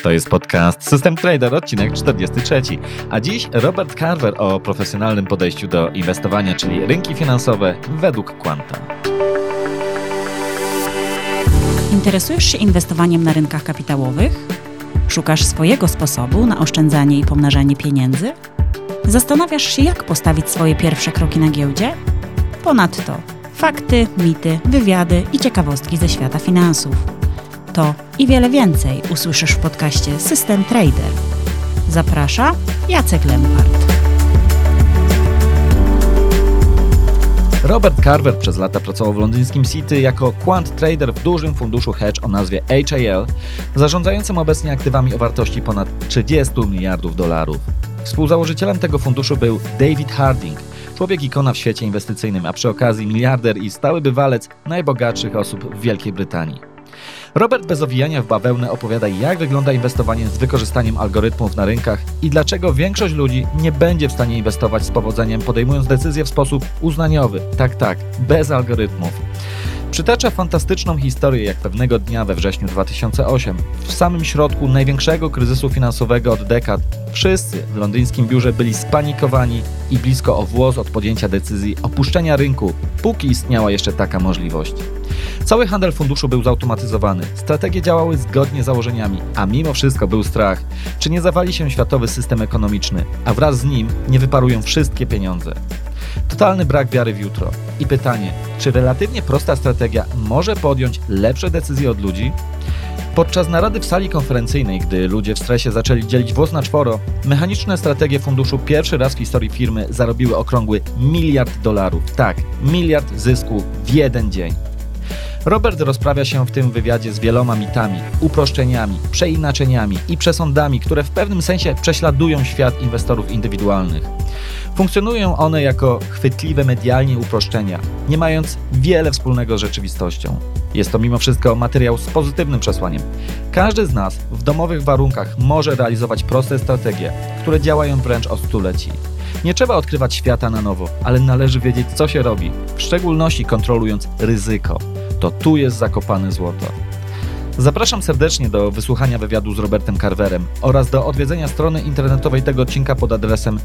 To jest podcast System Trader, odcinek 43. A dziś Robert Carver o profesjonalnym podejściu do inwestowania, czyli rynki finansowe według Quanta. Interesujesz się inwestowaniem na rynkach kapitałowych? Szukasz swojego sposobu na oszczędzanie i pomnażanie pieniędzy? Zastanawiasz się, jak postawić swoje pierwsze kroki na giełdzie? Ponadto fakty, mity, wywiady i ciekawostki ze świata finansów. To i wiele więcej usłyszysz w podcaście System Trader. Zaprasza Jacek Lempart. Robert Carver przez lata pracował w londyńskim City jako quant trader w dużym funduszu hedge o nazwie HAL, zarządzającym obecnie aktywami o wartości ponad 30 miliardów dolarów. Współzałożycielem tego funduszu był David Harding, człowiek ikona w świecie inwestycyjnym, a przy okazji miliarder i stały bywalec najbogatszych osób w Wielkiej Brytanii. Robert bez owijania w bawełnę opowiada, jak wygląda inwestowanie z wykorzystaniem algorytmów na rynkach i dlaczego większość ludzi nie będzie w stanie inwestować z powodzeniem, podejmując decyzje w sposób uznaniowy. Tak, bez algorytmów. Przytacza fantastyczną historię, jak pewnego dnia we wrześniu 2008, w samym środku największego kryzysu finansowego od dekad, wszyscy w londyńskim biurze byli spanikowani i blisko o włos od podjęcia decyzji opuszczenia rynku, póki istniała jeszcze taka możliwość. Cały handel funduszu był zautomatyzowany, strategie działały zgodnie z założeniami, a mimo wszystko był strach, czy nie zawali się światowy system ekonomiczny, a wraz z nim nie wyparują wszystkie pieniądze. Totalny brak wiary w jutro. I pytanie, czy relatywnie prosta strategia może podjąć lepsze decyzje od ludzi? Podczas narady w sali konferencyjnej, gdy ludzie w stresie zaczęli dzielić włos na czworo, mechaniczne strategie funduszu pierwszy raz w historii firmy zarobiły okrągły $1 miliard. Tak, $1 miliard zysku w jeden dzień. Robert rozprawia się w tym wywiadzie z wieloma mitami, uproszczeniami, przeinaczeniami i przesądami, które w pewnym sensie prześladują świat inwestorów indywidualnych. Funkcjonują one jako chwytliwe medialnie uproszczenia, nie mając wiele wspólnego z rzeczywistością. Jest to mimo wszystko materiał z pozytywnym przesłaniem. Każdy z nas w domowych warunkach może realizować proste strategie, które działają wręcz od stuleci. Nie trzeba odkrywać świata na nowo, ale należy wiedzieć, co się robi, w szczególności kontrolując ryzyko. To tu jest zakopane złoto. Zapraszam serdecznie do wysłuchania wywiadu z Robertem Carverem oraz do odwiedzenia strony internetowej tego odcinka pod adresem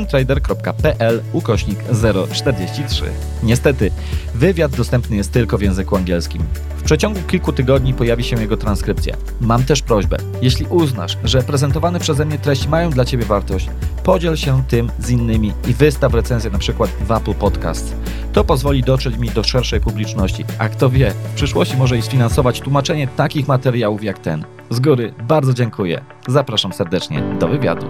systemtrader.pl/043. Niestety, wywiad dostępny jest tylko w języku angielskim. W przeciągu kilku tygodni pojawi się jego transkrypcja. Mam też prośbę, jeśli uznasz, że prezentowane przeze mnie treści mają dla Ciebie wartość, podziel się tym z innymi i wystaw recenzję na przykład w Apple Podcasts. To pozwoli dotrzeć mi do szerszej publiczności, a kto wie, w przyszłości może i sfinansować tłumaczenie takich materiałów jak ten. Z góry bardzo dziękuję. Zapraszam serdecznie do wywiadu.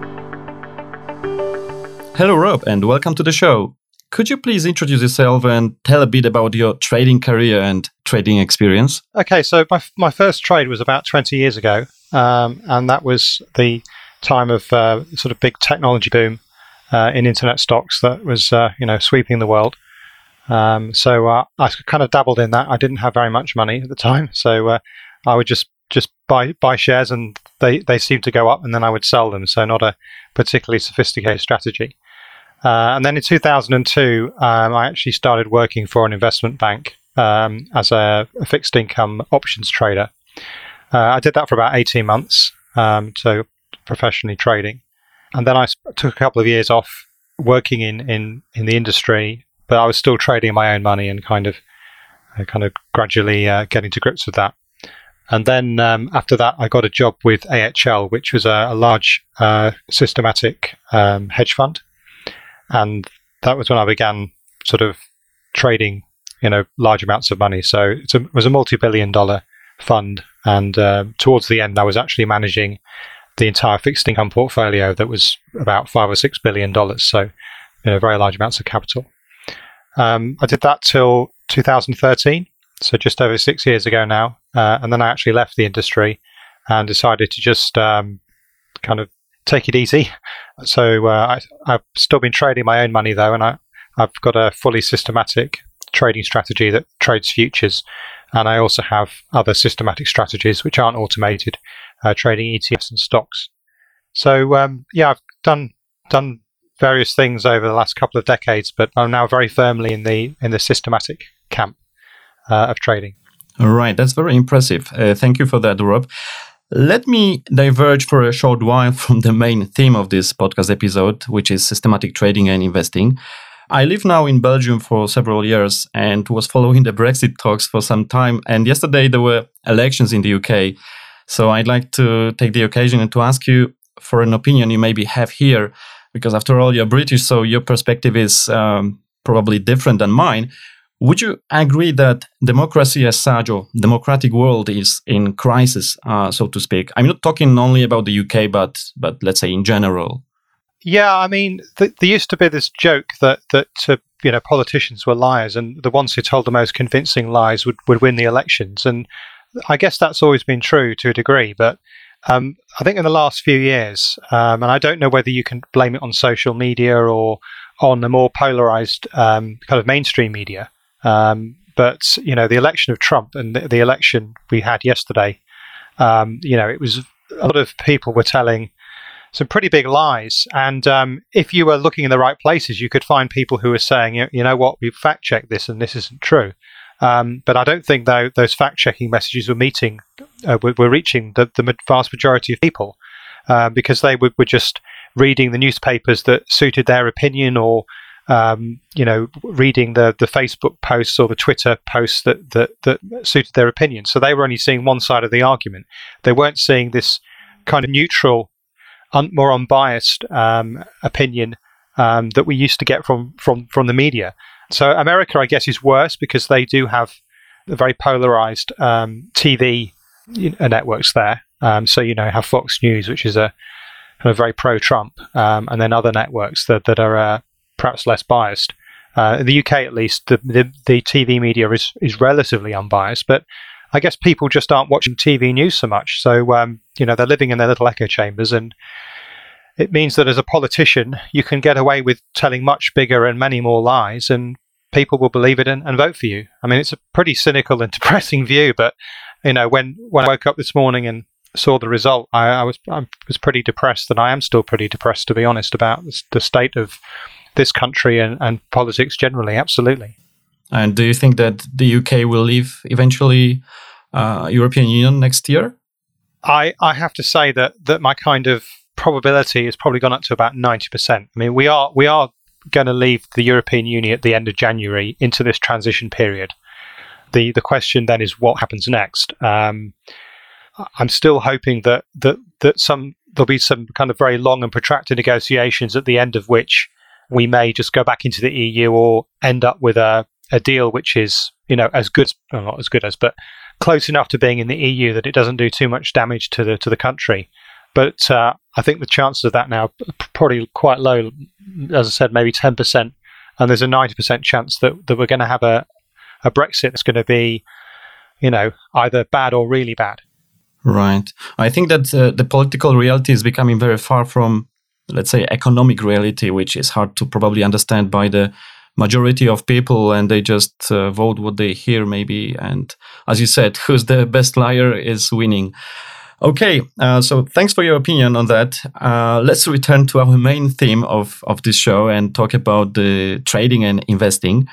Hello Rob and welcome to the show. Could you please introduce yourself and tell a bit about your trading career and trading experience? Okay, so my first trade was about 20 years ago, and that was the time of sort of big technology boom in internet stocks that was sweeping the world. So I kind of dabbled in that. I didn't have very much money at the time, so I would just buy shares, and they seemed to go up, and then I would sell them. So not a particularly sophisticated strategy. And then in 2002, I actually started working for an investment bank as a fixed income options trader. I did that for about 18 months, so professionally trading. And then I took a couple of years off working in the industry, but I was still trading my own money and kind of gradually getting to grips with that. And then after that, I got a job with AHL, which was a large systematic hedge fund. And that was when I began sort of trading, large amounts of money. So it was a multi-billion-dollar fund. And towards the end, I was actually managing the entire fixed income portfolio that was about $5 or $6 billion. So, very large amounts of capital. I did that till 2013, so just over 6 years ago now. And then I actually left the industry and decided to just kind of take it easy. So I've still been trading my own money though, and I've got a fully systematic trading strategy that trades futures, and I also have other systematic strategies which aren't automated, trading ETFs and stocks. So I've done various things over the last couple of decades, but I'm now very firmly in the systematic camp of trading. All right, that's very impressive. Thank you for that, Rob. Let me diverge for a short while from the main theme of this podcast episode, which is systematic trading and investing. I live now in Belgium for several years and was following the Brexit talks for some time. And yesterday there were elections in the UK. So I'd like to take the occasion and to ask you for an opinion you maybe have here, because after all, you're British, so your perspective is probably different than mine. Would you agree that democracy as such, or democratic world, is in crisis, so to speak? I'm not talking only about the UK, but let's say in general. Yeah, I mean, there used to be this joke that politicians were liars, and the ones who told the most convincing lies would win the elections. And I guess that's always been true to a degree. But I think in the last few years, and I don't know whether you can blame it on social media or on the more polarized kind of mainstream media. But the election of Trump and the election we had yesterday, it was a lot of people were telling some pretty big lies. And if you were looking in the right places, you could find people who were saying, you know what, we've fact checked this and this isn't true. But I don't think those fact checking messages were reaching the vast majority of people because they were just reading the newspapers that suited their opinion, or reading the Facebook posts or the Twitter posts that suited their opinion. So they were only seeing one side of the argument. They weren't seeing this kind of neutral, more unbiased opinion that we used to get from the media. So America, I guess, is worse because they do have a very polarized TV networks there. So have Fox News, which is a kind of very pro-Trump, and then other networks that are perhaps less biased. In the UK, at least, the TV media is relatively unbiased, but I guess people just aren't watching TV news so much. So, they're living in their little echo chambers, and it means that as a politician, you can get away with telling much bigger and many more lies, and people will believe it and vote for you. I mean, it's a pretty cynical and depressing view, but, when I woke up this morning and saw the result, I was pretty depressed, and I am still pretty depressed, to be honest, about the state of this country and politics generally. Absolutely. And do you think that the UK will leave eventually European Union next year? I have to say that my kind of probability has probably gone up to about 90%. I mean, we are going to leave the European Union at the end of January into this transition period. The question then is what happens next. I'm still hoping that there'll be some kind of very long and protracted negotiations at the end of which we may just go back into the EU or end up with a deal which is, as good, well, not as good as, but close enough to being in the EU that it doesn't do too much damage to the country. But I think the chances of that now are probably quite low. As I said, maybe 10%, and there's a 90% chance that we're going to have a Brexit that's going to be, either bad or really bad. Right. I think that the political reality is becoming very far from, let's say, economic reality, which is hard to probably understand by the majority of people, and they just vote what they hear, maybe. And as you said, who's the best liar is winning. Okay, so thanks for your opinion on that. Let's return to our main theme of this show and talk about the trading and investing.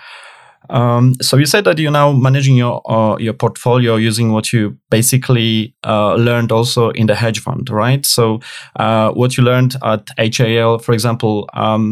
So you said that you're now managing your portfolio using what you basically learned also in the hedge fund, right? So what you learned at HAL, for example,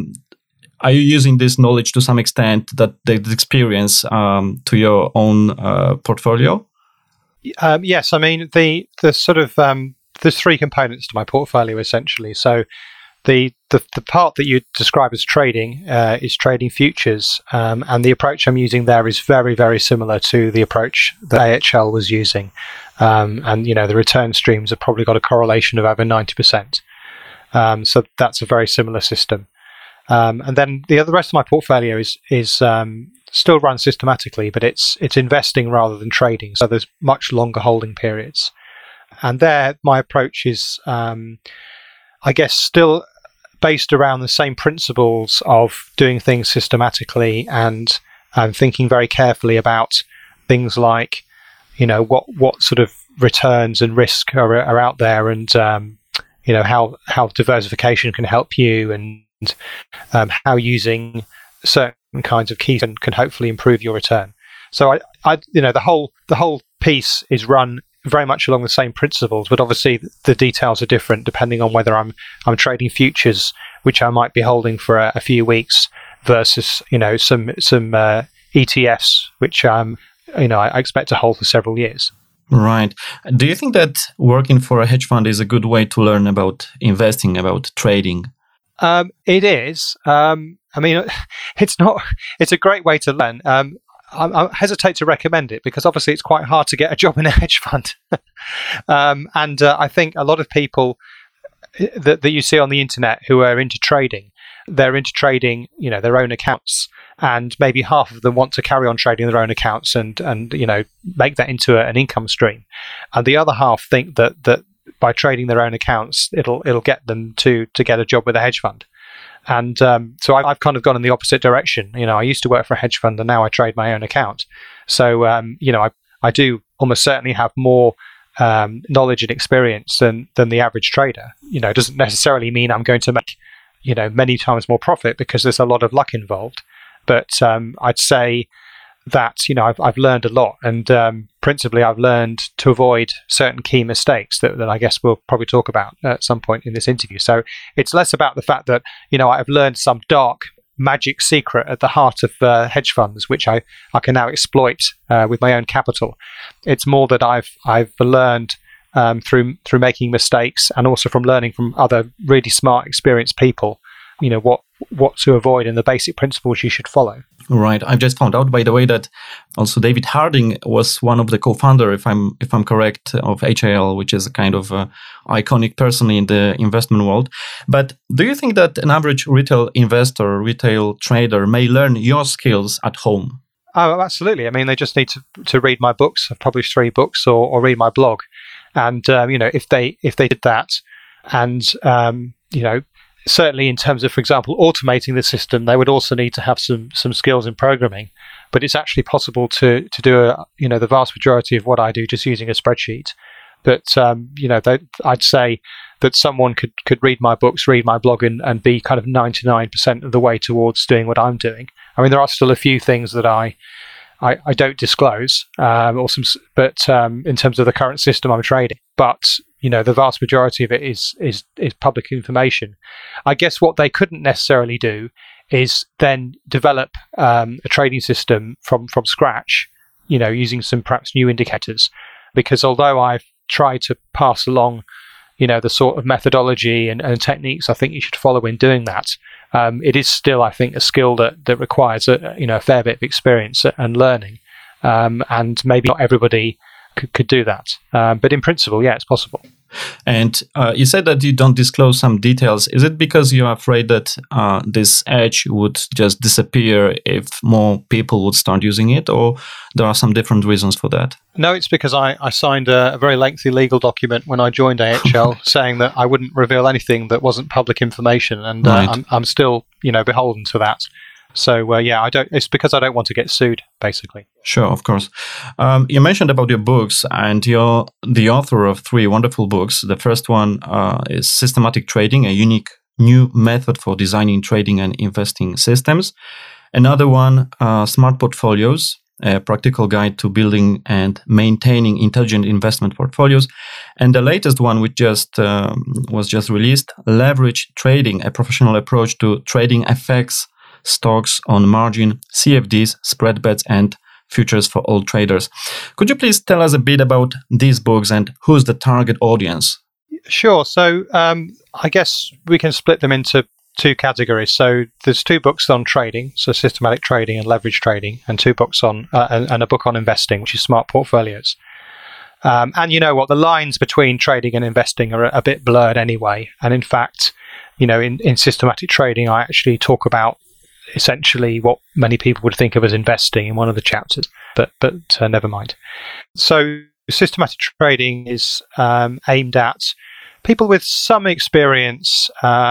are you using this knowledge to some extent, that the experience to your own portfolio? Yes, I mean the sort of there's three components to my portfolio essentially. So the part that you describe as trading is trading futures, and the approach I'm using there is very, very similar to the approach that AHL was using, and the return streams have probably got a correlation of over 90%. So that's a very similar system. And then the rest of my portfolio is still run systematically, but it's investing rather than trading. So there's much longer holding periods. And there, my approach is, I guess, still based around the same principles of doing things systematically and thinking very carefully about things like, what sort of returns and risk are out there, and how diversification can help you, and how using certain kinds of keys can hopefully improve your return. So I the whole piece is run very much along the same principles, but obviously the details are different depending on whether I'm trading futures, which I might be holding for a few weeks, versus some ETFs, which I expect to hold for several years. Right. Do you think that working for a hedge fund is a good way to learn about investing, about trading? It is. It's not. It's a great way to learn. I hesitate to recommend it because obviously it's quite hard to get a job in a hedge fund. And I think a lot of people that you see on the internet who are into trading, they're into trading, their own accounts, and maybe half of them want to carry on trading their own accounts and make that into an income stream, and the other half think that by trading their own accounts, it'll get them to get a job with a hedge fund. And so I've kind of gone in the opposite direction. I used to work for a hedge fund, and now I trade my own account. So I do almost certainly have more knowledge and experience than the average trader. It doesn't necessarily mean I'm going to make many times more profit because there's a lot of luck involved. But I'd say that I've learned a lot, and principally I've learned to avoid certain key mistakes that I guess we'll probably talk about at some point in this interview. So it's less about the fact that I've learned some dark magic secret at the heart of hedge funds, which I can now exploit with my own capital. It's more that I've learned through making mistakes, and also from learning from other really smart, experienced people, what to avoid and the basic principles you should follow. Right. I've just found out, by the way, that also David Harding was one of the co-founder, if I'm correct, of HIL, which is a kind of iconic person in the investment world. But do you think that an average retail investor, retail trader may learn your skills at home? Oh, absolutely. I mean, they just need to read my books. I've published 3 books, or read my blog. And, if they did that, and, certainly in terms of, for example, automating the system, they would also need to have some skills in programming. But it's actually possible to do the vast majority of what I do just using a spreadsheet. But I'd say that someone could read my books, read my blog, and be kind of 99% of the way towards doing what I'm doing. I mean, there are still a few things that I don't disclose, but in terms of the current system I'm trading. But the vast majority of it is public information. I guess what they couldn't necessarily do is then develop a trading system from scratch, using some perhaps new indicators. Because although I've tried to pass along, the sort of methodology and techniques I think you should follow in doing that, it is still, I think, a skill that requires a fair bit of experience and learning. And maybe not everybody could do that. But in principle, yeah, it's possible. And you said that you don't disclose some details. Is it because you're afraid that this edge would just disappear if more people would start using it, or there are some different reasons for that? No, it's because I signed a very lengthy legal document when I joined AHL saying that I wouldn't reveal anything that wasn't public information, and right. I'm still, beholden to that. So I don't. It's because I don't want to get sued, basically. Sure, of course. You mentioned about your books, and you're the author of 3 wonderful books. The first one is Systematic Trading, a unique new method for designing trading and investing systems. Another one, Smart Portfolios, a practical guide to building and maintaining intelligent investment portfolios. And the latest one, which was just released, Leverage Trading, a professional approach to trading FX, stocks on margin, CFDs, spread bets, and futures for all traders. Could you please tell us a bit about these books and who's the target audience? Sure. So I guess we can split them into 2 categories. So there's 2 books on trading, so Systematic Trading and Leverage Trading, and 2 books on and a book on investing, which is Smart Portfolios. And the lines between trading and investing are a bit blurred anyway. And in fact, in Systematic Trading, I actually talk about essentially what many people would think of as investing in one of the chapters, but never mind. So systematic trading is aimed at people with some experience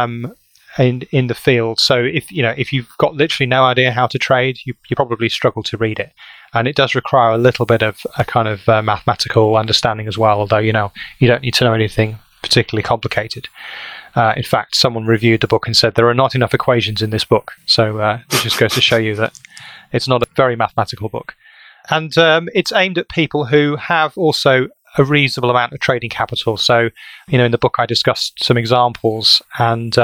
in the field. So if you've got literally no idea how to trade, you probably struggle to read it, and it does require a little bit of a kind of mathematical understanding as well. Although you don't need to know anything particularly complicated. In fact, someone reviewed the book and said there are not enough equations in this book. So it just goes to show you that it's not a very mathematical book. And it's aimed at people who have also a reasonable amount of trading capital. So, in the book I discussed some examples, and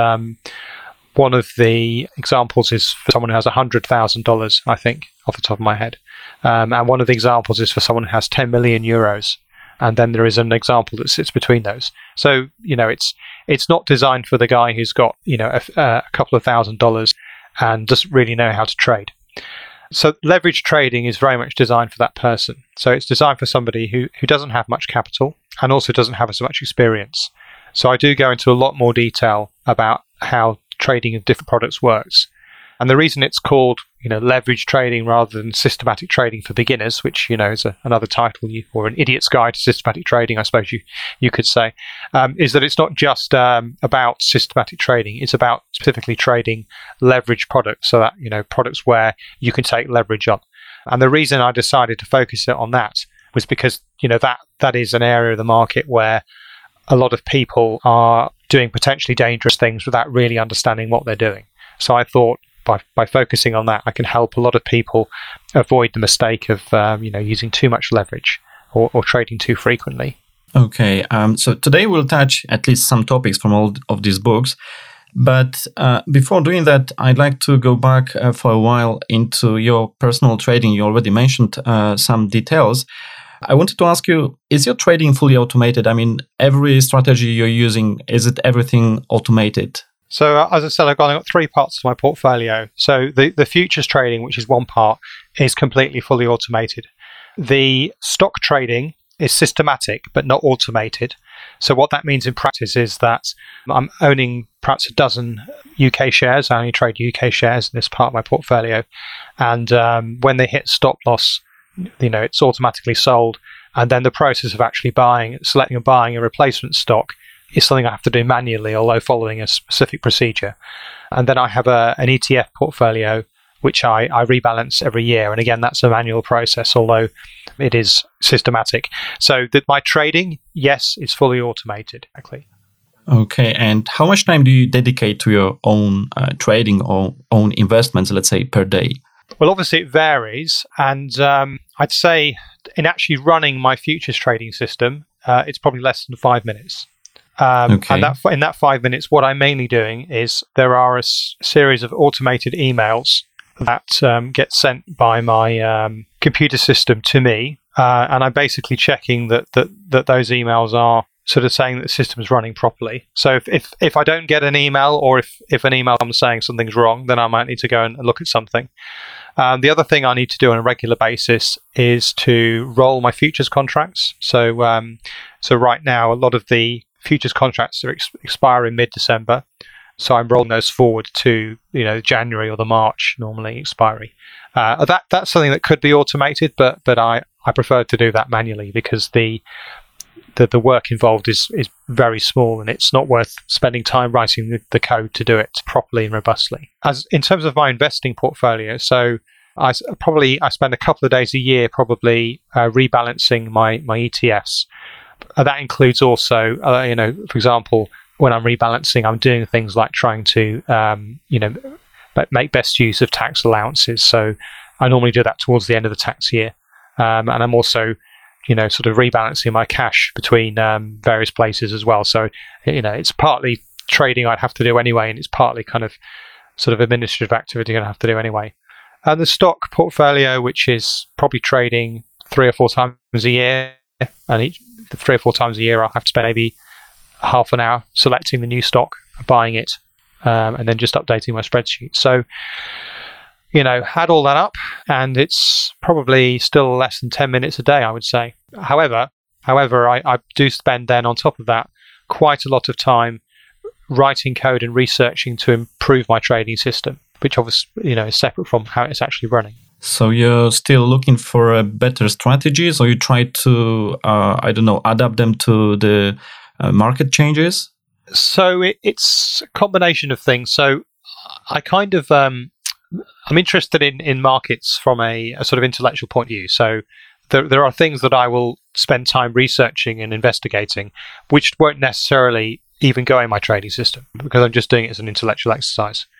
one of the examples is for someone who has $100,000, I think, off the top of my head. And one of the examples is for someone who has 10 million euros. And then there is an example that sits between those. So, it's not designed for the guy who's got, a couple of $1,000s and doesn't really know how to trade. So leverage trading is very much designed for that person. So it's designed for somebody who doesn't have much capital and also doesn't have as much experience. So I do go into a lot more detail about how trading of different products works. And the reason it's called, leverage trading rather than systematic trading for beginners, which, is another title, or an idiot's guide to systematic trading, I suppose you could say, is that it's not just about systematic trading. It's about specifically trading leverage products, so that, products where you can take leverage on. And the reason I decided to focus it on that was because, that is an area of the market where a lot of people are doing potentially dangerous things without really understanding what they're doing. So I thought, by focusing on that, I can help a lot of people avoid the mistake of using too much leverage or trading too frequently. Okay, so today we'll touch at least some topics from all of these books. But before doing that, I'd like to go back for a while into your personal trading. You already mentioned some details. I wanted to ask you, is your trading fully automated? I mean, every strategy you're using, is it everything automated? So as I said, I've got three parts to my portfolio. So the futures trading, which is one part, is completely fully automated. The stock trading is systematic but not automated. So what that means in practice is that I'm owning perhaps a dozen UK shares. I only trade UK shares in this part of my portfolio. And when they hit stop loss, it's automatically sold. And then the process of actually selecting and buying a replacement stock is something I have to do manually, although following a specific procedure. And then I have an ETF portfolio, which I rebalance every year. And again, that's a manual process, although it is systematic. So my trading, yes, is fully automated. Exactly. Okay. And how much time do you dedicate to your own trading or own investments, let's say, per day? Well, obviously it varies. And I'd say in actually running my futures trading system, it's probably less than 5 minutes. Okay. And in that 5 minutes, what I'm mainly doing is there are a series of automated emails that get sent by my computer system to me, and I'm basically checking that those emails are sort of saying that the system is running properly. So if I don't get an email, or if an email I'm saying something's wrong, then I might need to go and look at something. The other thing I need to do on a regular basis is to roll my futures contracts. So right now, a lot of the futures contracts are expire in mid-December, so I'm rolling those forward to January or the March normally expiry. That's something that could be automated, but I prefer to do that manually because the work involved is very small, and it's not worth spending time writing the code to do it properly and robustly. As in terms of my investing portfolio, so I spend a couple of days a year probably rebalancing my ETFs. That includes also, for example, when I'm rebalancing, I'm doing things like trying to, make best use of tax allowances. So I normally do that towards the end of the tax year. And I'm also, sort of rebalancing my cash between various places as well. So, it's partly trading I'd have to do anyway, and it's partly kind of sort of administrative activity I'd have to do anyway. And the stock portfolio, which is probably trading 3 or 4 times a year, and 3 or 4 times a year I'll have to spend maybe half an hour selecting the new stock, buying it, and then just updating my spreadsheet. So, add all that up, and it's probably still less than 10 minutes a day, I would say. However, I do spend then on top of that quite a lot of time writing code and researching to improve my trading system, which obviously, is separate from how it's actually running. So you're still looking for better strategies, or you try to, adapt them to the market changes? So it's a combination of things. So I kind of, I'm interested in markets from a sort of intellectual point of view. So there are things that I will spend time researching and investigating, which won't necessarily even go in my trading system because I'm just doing it as an intellectual exercise.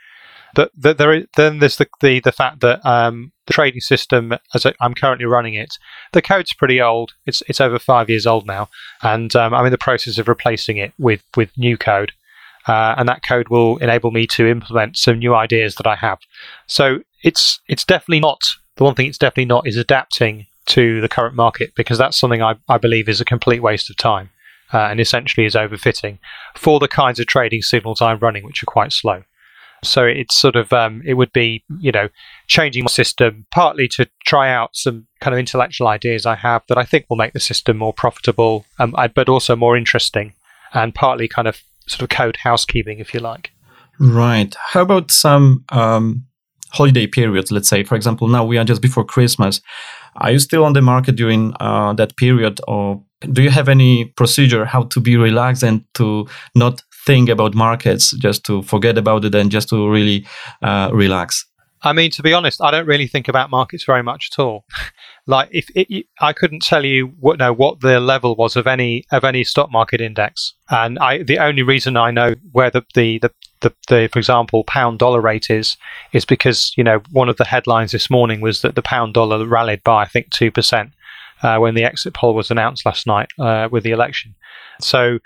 Then there's the fact that the trading system, I'm currently running it, the code's pretty old. It's over 5 years old now, and I'm in the process of replacing it with new code. And that code will enable me to implement some new ideas that I have. So it's definitely not, the one thing it's definitely not is adapting to the current market, because that's something I believe is a complete waste of time and essentially is overfitting for the kinds of trading signals I'm running, which are quite slow. So it's sort of, it would be, changing my system partly to try out some kind of intellectual ideas I have that I think will make the system more profitable, but also more interesting, and partly kind of sort of code housekeeping, if you like. Right. How about some holiday periods, let's say? For example, now we are just before Christmas. Are you still on the market during that period, or do you have any procedure how to be relaxed and to not think about markets, just to forget about it and just to really relax? I mean, to be honest, I don't really think about markets very much at all. Like, I couldn't tell you what the level was of any stock market index, and the only reason I know where the for example pound dollar rate is because one of the headlines this morning was that the pound dollar rallied by I think 2% when the exit poll was announced last night with the election. So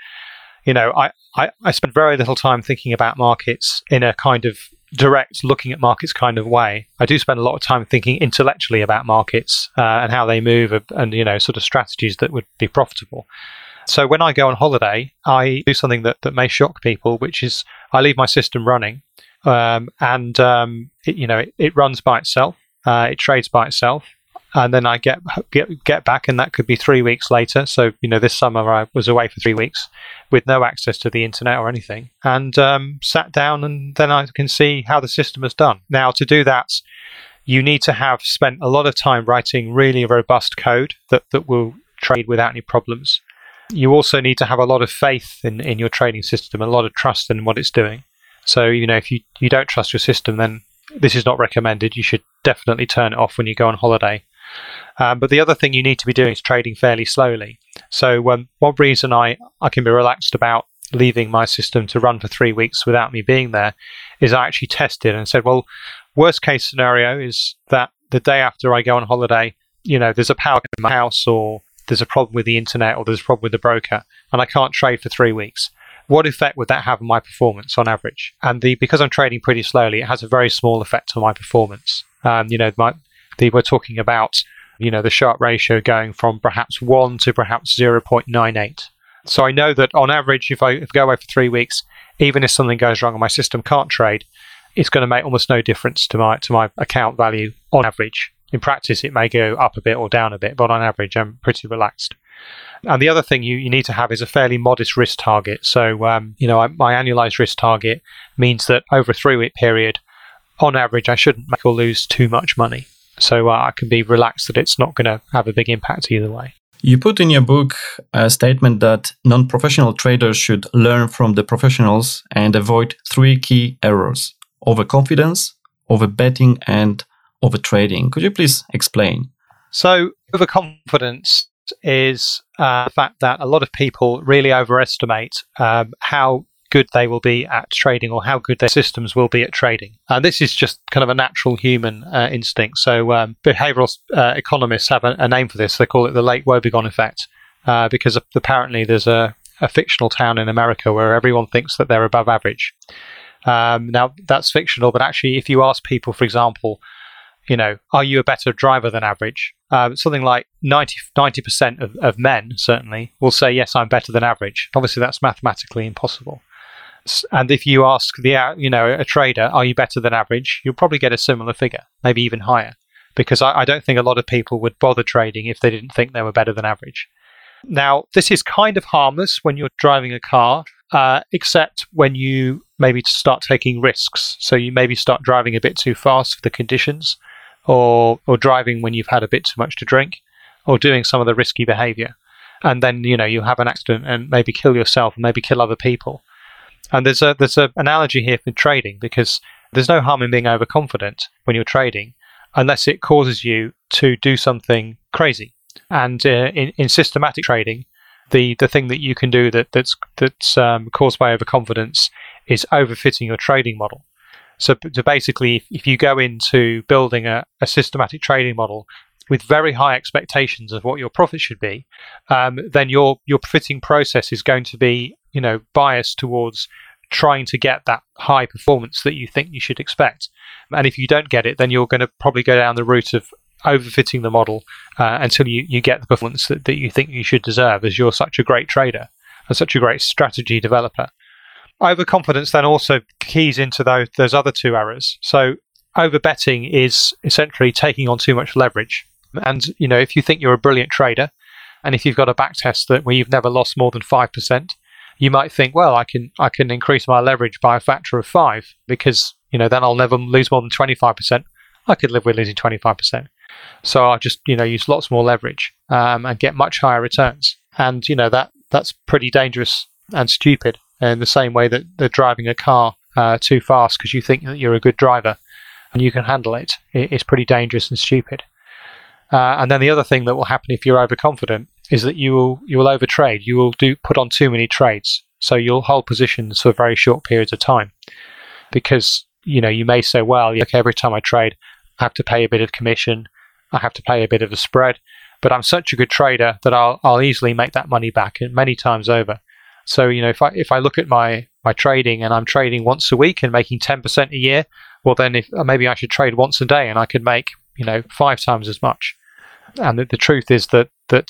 I spend very little time thinking about markets in a kind of direct looking at markets kind of way. I do spend a lot of time thinking intellectually about markets and how they move, and sort of strategies that would be profitable. So when I go on holiday, I do something that may shock people, which is I leave my system running, and it runs by itself, it trades by itself, and then I get back, and that could be 3 weeks later. So this summer I was away for 3 weeks with no access to the internet or anything, and sat down, and then I can see how the system has done. Now, to do that, you need to have spent a lot of time writing really robust code that will trade without any problems. You also need to have a lot of faith in your trading system, a lot of trust in what it's doing. So if you don't trust your system, then this is not recommended. You should definitely turn it off when you go on holiday. But the other thing you need to be doing is trading fairly slowly. So one reason I can be relaxed about leaving my system to run for 3 weeks without me being there is I actually tested and said, well, worst case scenario is that the day after I go on holiday, there's a power cut in my house, or there's a problem with the internet, or there's a problem with the broker, and I can't trade for 3 weeks. What effect would that have on my performance on average? And because I'm trading pretty slowly, it has a very small effect on my performance. We're talking about the Sharpe ratio going from perhaps 1 to perhaps 0.98. So I know that on average, if I go away for 3 weeks, even if something goes wrong and my system can't trade, it's going to make almost no difference to my account value on average. In practice, it may go up a bit or down a bit, but on average, I'm pretty relaxed. And the other thing you need to have is a fairly modest risk target. So, my annualized risk target means that over a 3-week period, on average, I shouldn't make or lose too much money. So I can be relaxed that it's not going to have a big impact either way. You put in your book a statement that non-professional traders should learn from the professionals and avoid 3 key errors: overconfidence, overbetting, and overtrading. Could you please explain? So overconfidence is the fact that a lot of people really overestimate how good they will be at trading, or how good their systems will be at trading. And this is just kind of a natural human instinct. So behavioral economists have a name for this. They call it the Lake Wobegon effect, because apparently there's a fictional town in America where everyone thinks that they're above average. Now, that's fictional, but actually, if you ask people, for example, are you a better driver than average? Something like 90% of men, certainly, will say, yes, I'm better than average. Obviously, that's mathematically impossible. And if you ask a trader, are you better than average? You'll probably get a similar figure, maybe even higher, because I don't think a lot of people would bother trading if they didn't think they were better than average. Now, this is kind of harmless when you're driving a car, except when you maybe start taking risks. So you maybe start driving a bit too fast for the conditions, or driving when you've had a bit too much to drink, or doing some of the risky behavior. And then, you have an accident and maybe kill yourself and maybe kill other people. And there's an analogy here for trading, because there's no harm in being overconfident when you're trading, unless it causes you to do something crazy. And in systematic trading, the thing that you can do that's caused by overconfidence is overfitting your trading model. So basically, if you go into building a systematic trading model with very high expectations of what your profit should be, then your profiting process is going to be, biased towards trying to get that high performance that you think you should expect. And if you don't get it, then you're going to probably go down the route of overfitting the model until you get the performance that you think you should deserve, as you're such a great trader and such a great strategy developer. Overconfidence then also keys into those other two errors. So overbetting is essentially taking on too much leverage. And if you think you're a brilliant trader, and if you've got a backtest where you've never lost more than 5%, you might think, well, I can increase my leverage by a factor of 5 because then I'll never lose more than 25%. I could live with losing 25%. So I'll just use lots more leverage and get much higher returns. And that's pretty dangerous and stupid in the same way that they're driving a car too fast because you think that you're a good driver and you can handle it. It's pretty dangerous and stupid. And then the other thing that will happen if you're overconfident is that you will overtrade. You will put on too many trades. So you'll hold positions for very short periods of time because you may say, well, okay, every time I trade, I have to pay a bit of commission. I have to pay a bit of a spread. But I'm such a good trader that I'll easily make that money back many times over. So if I look at my trading and I'm trading once a week and making 10% a year, well then maybe I should trade once a day and I could make 5 times as much. And the truth is that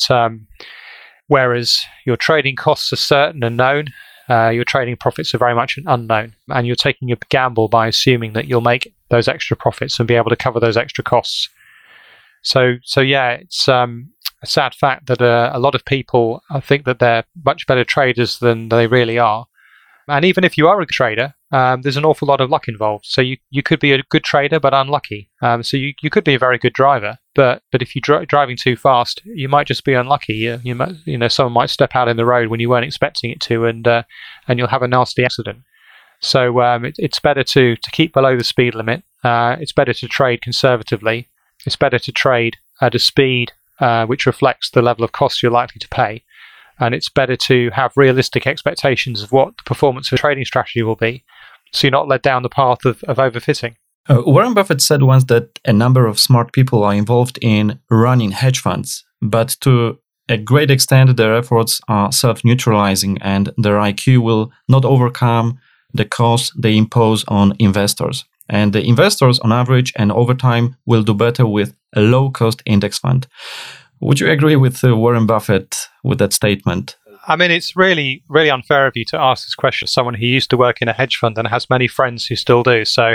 whereas your trading costs are certain and known, your trading profits are very much unknown, and you're taking a gamble by assuming that you'll make those extra profits and be able to cover those extra costs. So yeah, it's a sad fact that a lot of people think that they're much better traders than they really are. And even if you are a trader, there's an awful lot of luck involved. So you could be a good trader but unlucky. So you could be a very good driver, but if you're driving too fast, you might just be unlucky. You might, someone might step out in the road when you weren't expecting it to, and you'll have a nasty accident. So it's better to keep below the speed limit. It's better to trade conservatively. It's better to trade at a speed which reflects the level of costs you're likely to pay. And it's better to have realistic expectations of what the performance of a trading strategy will be, so you're not led down the path of overfitting. Warren Buffett said once that a number of smart people are involved in running hedge funds, but to a great extent their efforts are self-neutralizing and their IQ will not overcome the cost they impose on investors. And the investors, on average and over time, will do better with a low-cost index fund. Would you agree with Warren Buffett with that statement? I mean, it's really, really unfair of you to ask this question as someone who used to work in a hedge fund and has many friends who still do. So,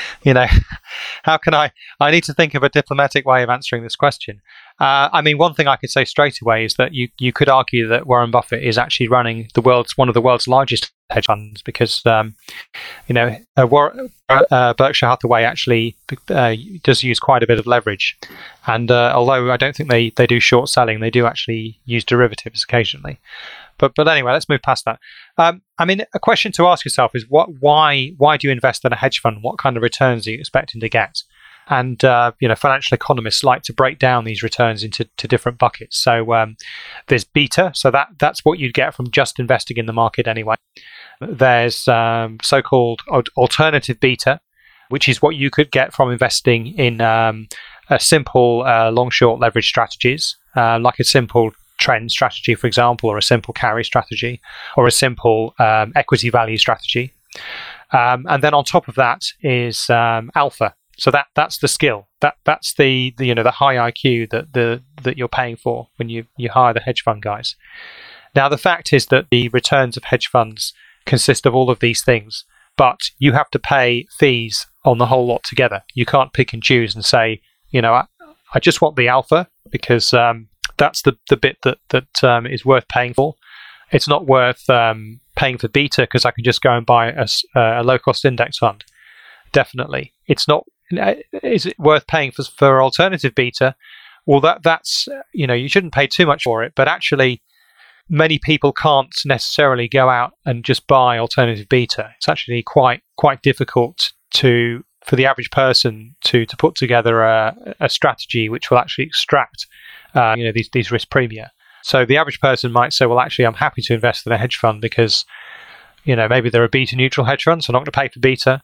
how can I need to think of a diplomatic way of answering this question. I mean, one thing I could say straight away is that you could argue that Warren Buffett is actually running one of the world's largest hedge funds because, Berkshire Hathaway actually does use quite a bit of leverage. And although I don't think they do short selling, they do actually use derivatives occasionally. But anyway, let's move past that. I mean, a question to ask yourself is why do you invest in a hedge fund? What kind of returns are you expecting to get? And financial economists like to break down these returns into different buckets. So there's beta, so that's what you'd get from just investing in the market anyway. There's so-called alternative beta, which is what you could get from investing in a simple long-short leverage strategies, like a simple trend strategy, for example, or a simple carry strategy, or a simple equity value strategy. And then on top of that is alpha. So that's the skill. That's the high IQ that you're paying for when you hire the hedge fund guys. Now the fact is that the returns of hedge funds consist of all of these things, but you have to pay fees on the whole lot together. You can't pick and choose and say, I just want the alpha because that's the bit that is worth paying for. It's not worth paying for beta because I can just go and buy a low cost index fund. Definitely, it's not. Is it worth paying for alternative beta? Well, that's you shouldn't pay too much for it, but actually many people can't necessarily go out and just buy alternative beta. It's actually quite difficult for the average person to put together a strategy which will actually extract these risk premia. So the average person might say, well, actually I'm happy to invest in a hedge fund because maybe they're a beta neutral hedge fund, so I'm not going to pay for beta.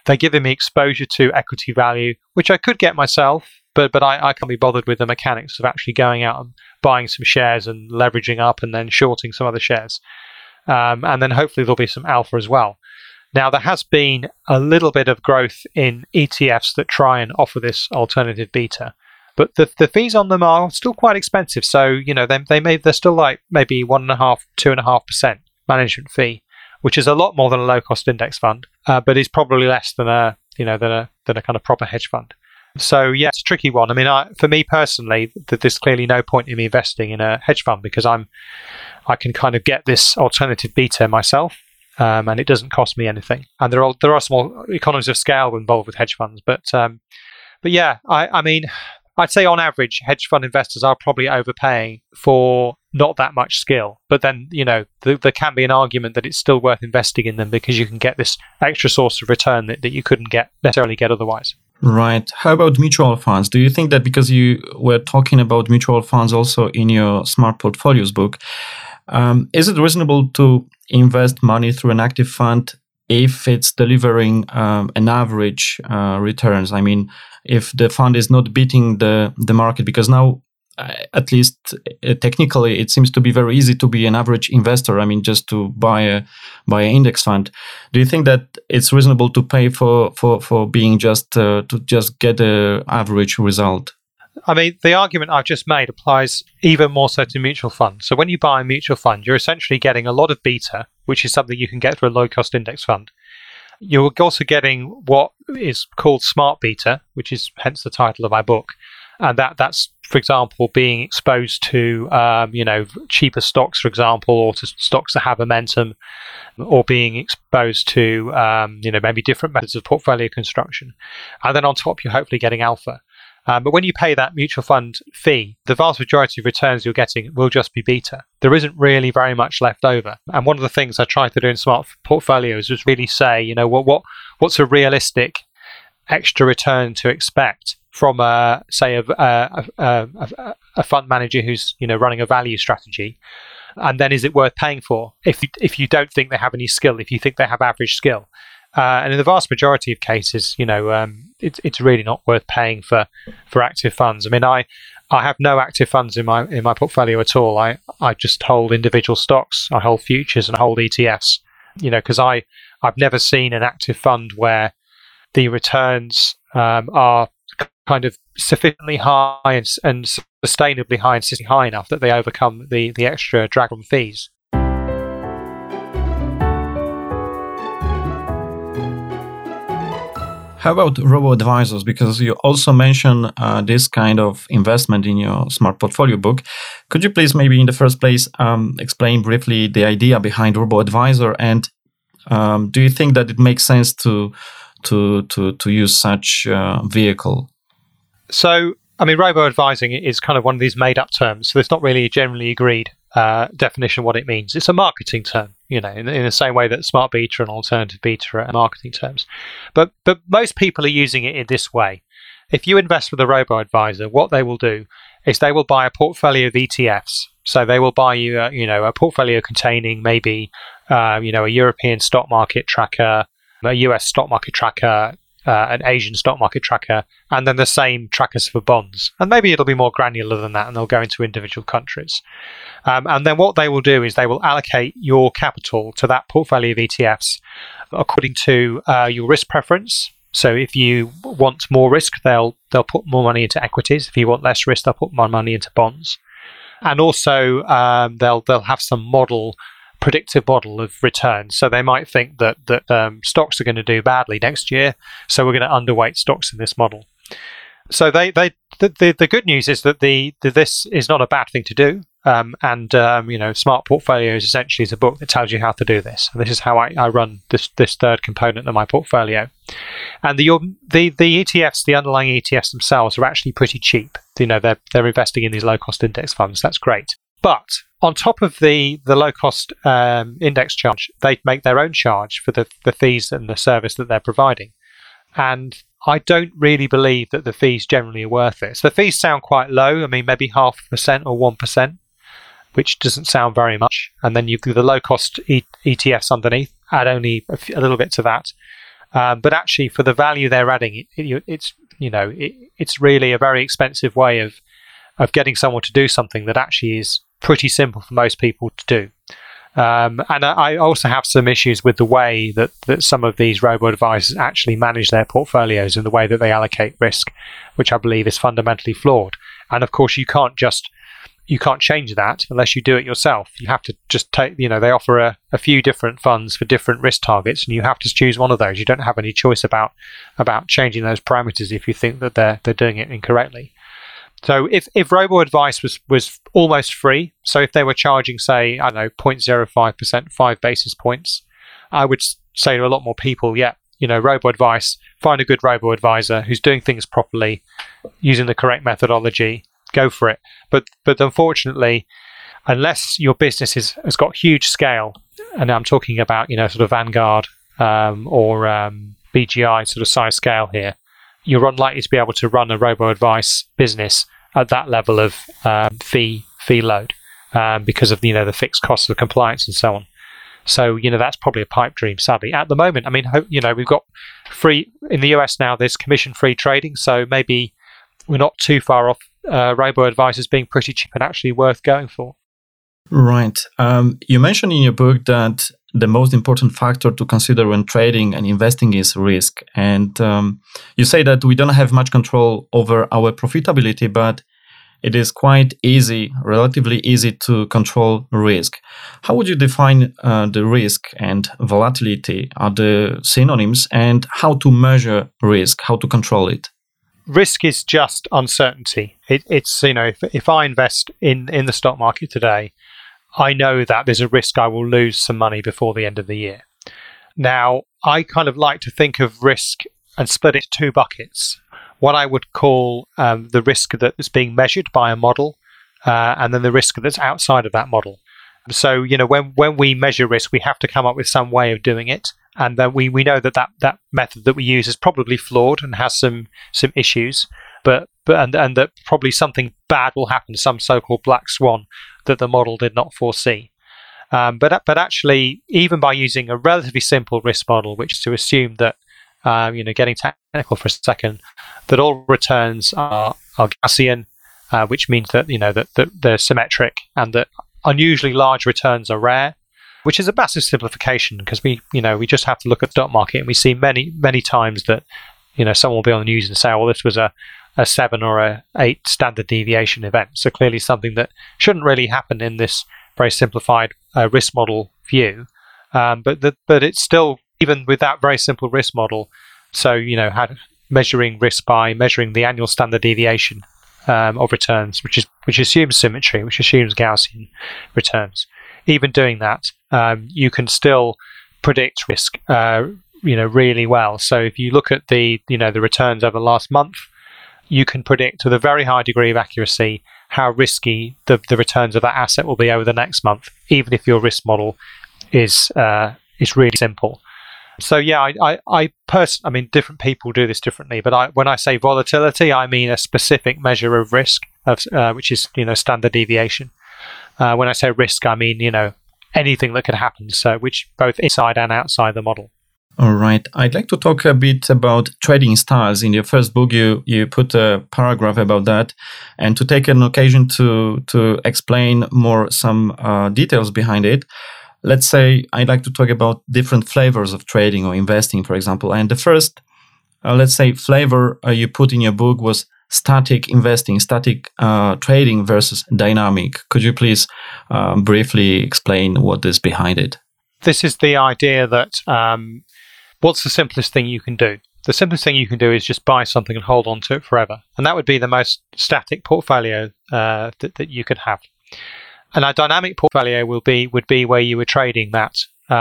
They're giving me exposure to equity value, which I could get myself, but I can't be bothered with the mechanics of actually going out and buying some shares and leveraging up and then shorting some other shares. And then hopefully there'll be some alpha as well. Now, there has been a little bit of growth in ETFs that try and offer this alternative beta, but the fees on them are still quite expensive. So, they're still like maybe 1.5%, 2.5% management fee, which is a lot more than a low cost index fund, but is probably less than a kind of proper hedge fund. So yeah, it's a tricky one. I mean, for me personally, there's clearly no point in me investing in a hedge fund because I can kind of get this alternative beta myself, and it doesn't cost me anything. And there are small economies of scale involved with hedge funds, but yeah, I mean, I'd say on average, hedge fund investors are probably overpaying for not that much skill. But then, there can be an argument that it's still worth investing in them because you can get this extra source of return that you couldn't necessarily get otherwise. Right. How about mutual funds? Do you think that because you were talking about mutual funds also in your Smart Portfolios book, is it reasonable to invest money through an active fund if it's delivering an average returns? I mean, if the fund is not beating the market, because now, at least technically, it seems to be very easy to be an average investor. I mean, just to buy an index fund. Do you think that it's reasonable to pay for being to just get an average result? I mean, the argument I've just made applies even more so to mutual funds. So when you buy a mutual fund, you're essentially getting a lot of beta, which is something you can get through a low-cost index fund. You're also getting what is called smart beta, which is hence the title of my book. And that's, for example, being exposed to, cheaper stocks, for example, or to stocks that have momentum, or being exposed to, maybe different methods of portfolio construction. And then on top, you're hopefully getting alpha. But when you pay that mutual fund fee, the vast majority of returns you're getting will just be beta. There isn't really very much left over. And one of the things I try to do in Smart Portfolios is really say, what's a realistic extra return to expect from a fund manager who's running a value strategy, and then is it worth paying for if you don't think they have any skill, if you think they have average skill, and in the vast majority of cases, it's really not worth paying for active funds. I mean, I have no active funds in my portfolio at all. I just hold individual stocks, I hold futures, and I hold ETFs. Because I've never seen an active fund where the returns are kind of sufficiently high and sustainably high and sitting high enough that they overcome the extra drag from fees. How about robo-advisors? Because you also mention this kind of investment in your Smart Portfolio book. Could you please maybe in the first place explain briefly the idea behind robo-advisor, and do you think that it makes sense to use such vehicle? So, I mean, robo-advising is kind of one of these made-up terms, so it's not really a generally agreed definition of what it means. It's a marketing term, in the same way that smart beta and alternative beta are marketing terms. But most people are using it in this way. If you invest with a robo-advisor, what they will do is they will buy a portfolio of ETFs. So they will buy you, a portfolio containing maybe, a European stock market tracker, a US stock market tracker, an Asian stock market tracker, and then the same trackers for bonds. And maybe it'll be more granular than that, and they'll go into individual countries. And then what they will do is they will allocate your capital to that portfolio of ETFs according to your risk preference. So if you want more risk, they'll put more money into equities. If you want less risk, they'll put more money into bonds. And also they'll have some predictive model of returns. So they might think that stocks are going to do badly next year, so we're going to underweight stocks in this model. So the good news is that this is not a bad thing to do. Smart Portfolios essentially is a book that tells you how to do this. And this is how I run this third component of my portfolio. And the ETFs, the underlying ETFs themselves, are actually pretty cheap. They're investing in these low cost index funds. That's great. But on top of the low cost index charge, they make their own charge for the fees and the service that they're providing. And I don't really believe that the fees generally are worth it. So the fees sound quite low. I mean, maybe 0.5% or 1%, which doesn't sound very much. And then you've got the low cost ETFs underneath, add only a little bit to that. But actually, for the value they're adding, it's really a very expensive way of getting someone to do something that actually is pretty simple for most people to do. And I also have some issues with the way that some of these robo-advisors actually manage their portfolios and the way that they allocate risk, which I believe is fundamentally flawed. And of course, you can't change that unless you do it yourself. You have to just take, they offer a few different funds for different risk targets, and you have to choose one of those. You don't have any choice about changing those parameters if you think that they're doing it incorrectly. So if robo-advice was almost free, so if they were charging, say, 0.05%, 5 basis points, I would say to a lot more people, robo-advice, find a good robo-advisor who's doing things properly, using the correct methodology, go for it. But unfortunately, unless your business has got huge scale, and I'm talking about, sort of Vanguard or BGI sort of size scale here, you're unlikely to be able to run a robo-advice business at that level of fee load because of the fixed costs of compliance and so on. So that's probably a pipe dream, sadly. At the moment, I mean, we've got free in the US now. There's commission-free trading, so maybe we're not too far off robo-advisors being pretty cheap and actually worth going for. Right. You mentioned in your book that the most important factor to consider when trading and investing is risk. And you say that we don't have much control over our profitability, but it is quite easy, relatively easy to control risk. How would you define the risk and volatility? Are the synonyms, and how to measure risk, how to control it? Risk is just uncertainty. It's if I invest in the stock market today, I know that there's a risk I will lose some money before the end of the year. Now, I kind of like to think of risk and split it into two buckets. What I would call the risk that is being measured by a model, and then the risk that's outside of that model. So, when we measure risk, we have to come up with some way of doing it. And then we know that method that we use is probably flawed and has some issues, but that probably something bad will happen, some so-called black swan that the model did not foresee. But actually, even by using a relatively simple risk model, which is to assume that getting technical for a second, that all returns are Gaussian, which means that that they're symmetric, and that unusually large returns are rare. Which is a massive simplification, because we just have to look at the stock market, and we see many times that someone will be on the news and say, well, this was a 7 or a 8 standard deviation event. So clearly something that shouldn't really happen in this very simplified risk model view. But it's still, even with that very simple risk model, so measuring risk by measuring the annual standard deviation of returns, which assumes symmetry, which assumes Gaussian returns. Even doing that, you can still predict risk, really well. So if you look at the returns over the last month, you can predict with a very high degree of accuracy how risky the returns of that asset will be over the next month, even if your risk model is really simple. So I mean, different people do this differently, but when I say volatility, I mean a specific measure of risk, which is standard deviation. When I say risk, I mean anything that could happen, so which both inside and outside the model. All right. I'd like to talk a bit about trading styles. In your first book, you put a paragraph about that, and to take an occasion to explain more some details behind it. Let's say I'd like to talk about different flavors of trading or investing, for example. And the first, let's say, flavor you put in your book was static investing, static trading versus dynamic. Could you please briefly explain what is behind it? This is the idea that what's the simplest thing you can do? The simplest thing you can do is just buy something and hold on to it forever. And that would be the most static portfolio that you could have. And a dynamic portfolio would be where you were trading that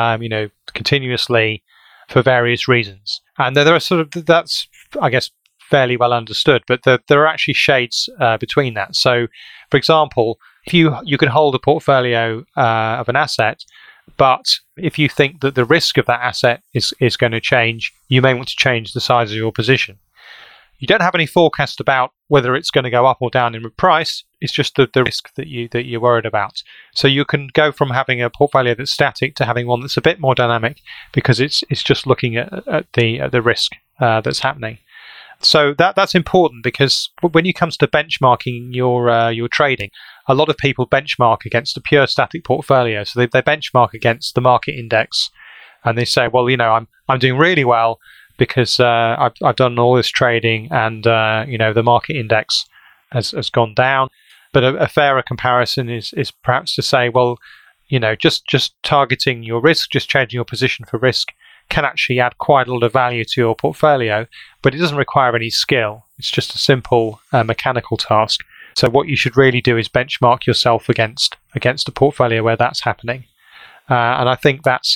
continuously for various reasons. And there are that's, I guess, fairly well understood, but there are actually shades between that. So, for example, if you can hold a portfolio of an asset, but if you think that the risk of that asset is going to change, you may want to change the size of your position. You don't have any forecast about whether it's going to go up or down in price. It's just the risk that you're worried about. So you can go from having a portfolio that's static to having one that's a bit more dynamic, because it's just looking at the risk that's happening. So that's important, because when it comes to benchmarking your trading, a lot of people benchmark against a pure static portfolio. So they benchmark against the market index, and they say, well, I'm doing really well because I've done all this trading, and the market index has gone down. But a fairer comparison is perhaps to say, well, just targeting your risk, just changing your position for risk, can actually add quite a lot of value to your portfolio, but it doesn't require any skill. It's just a simple mechanical task. So what you should really do is benchmark yourself against a portfolio where that's happening. And I think that's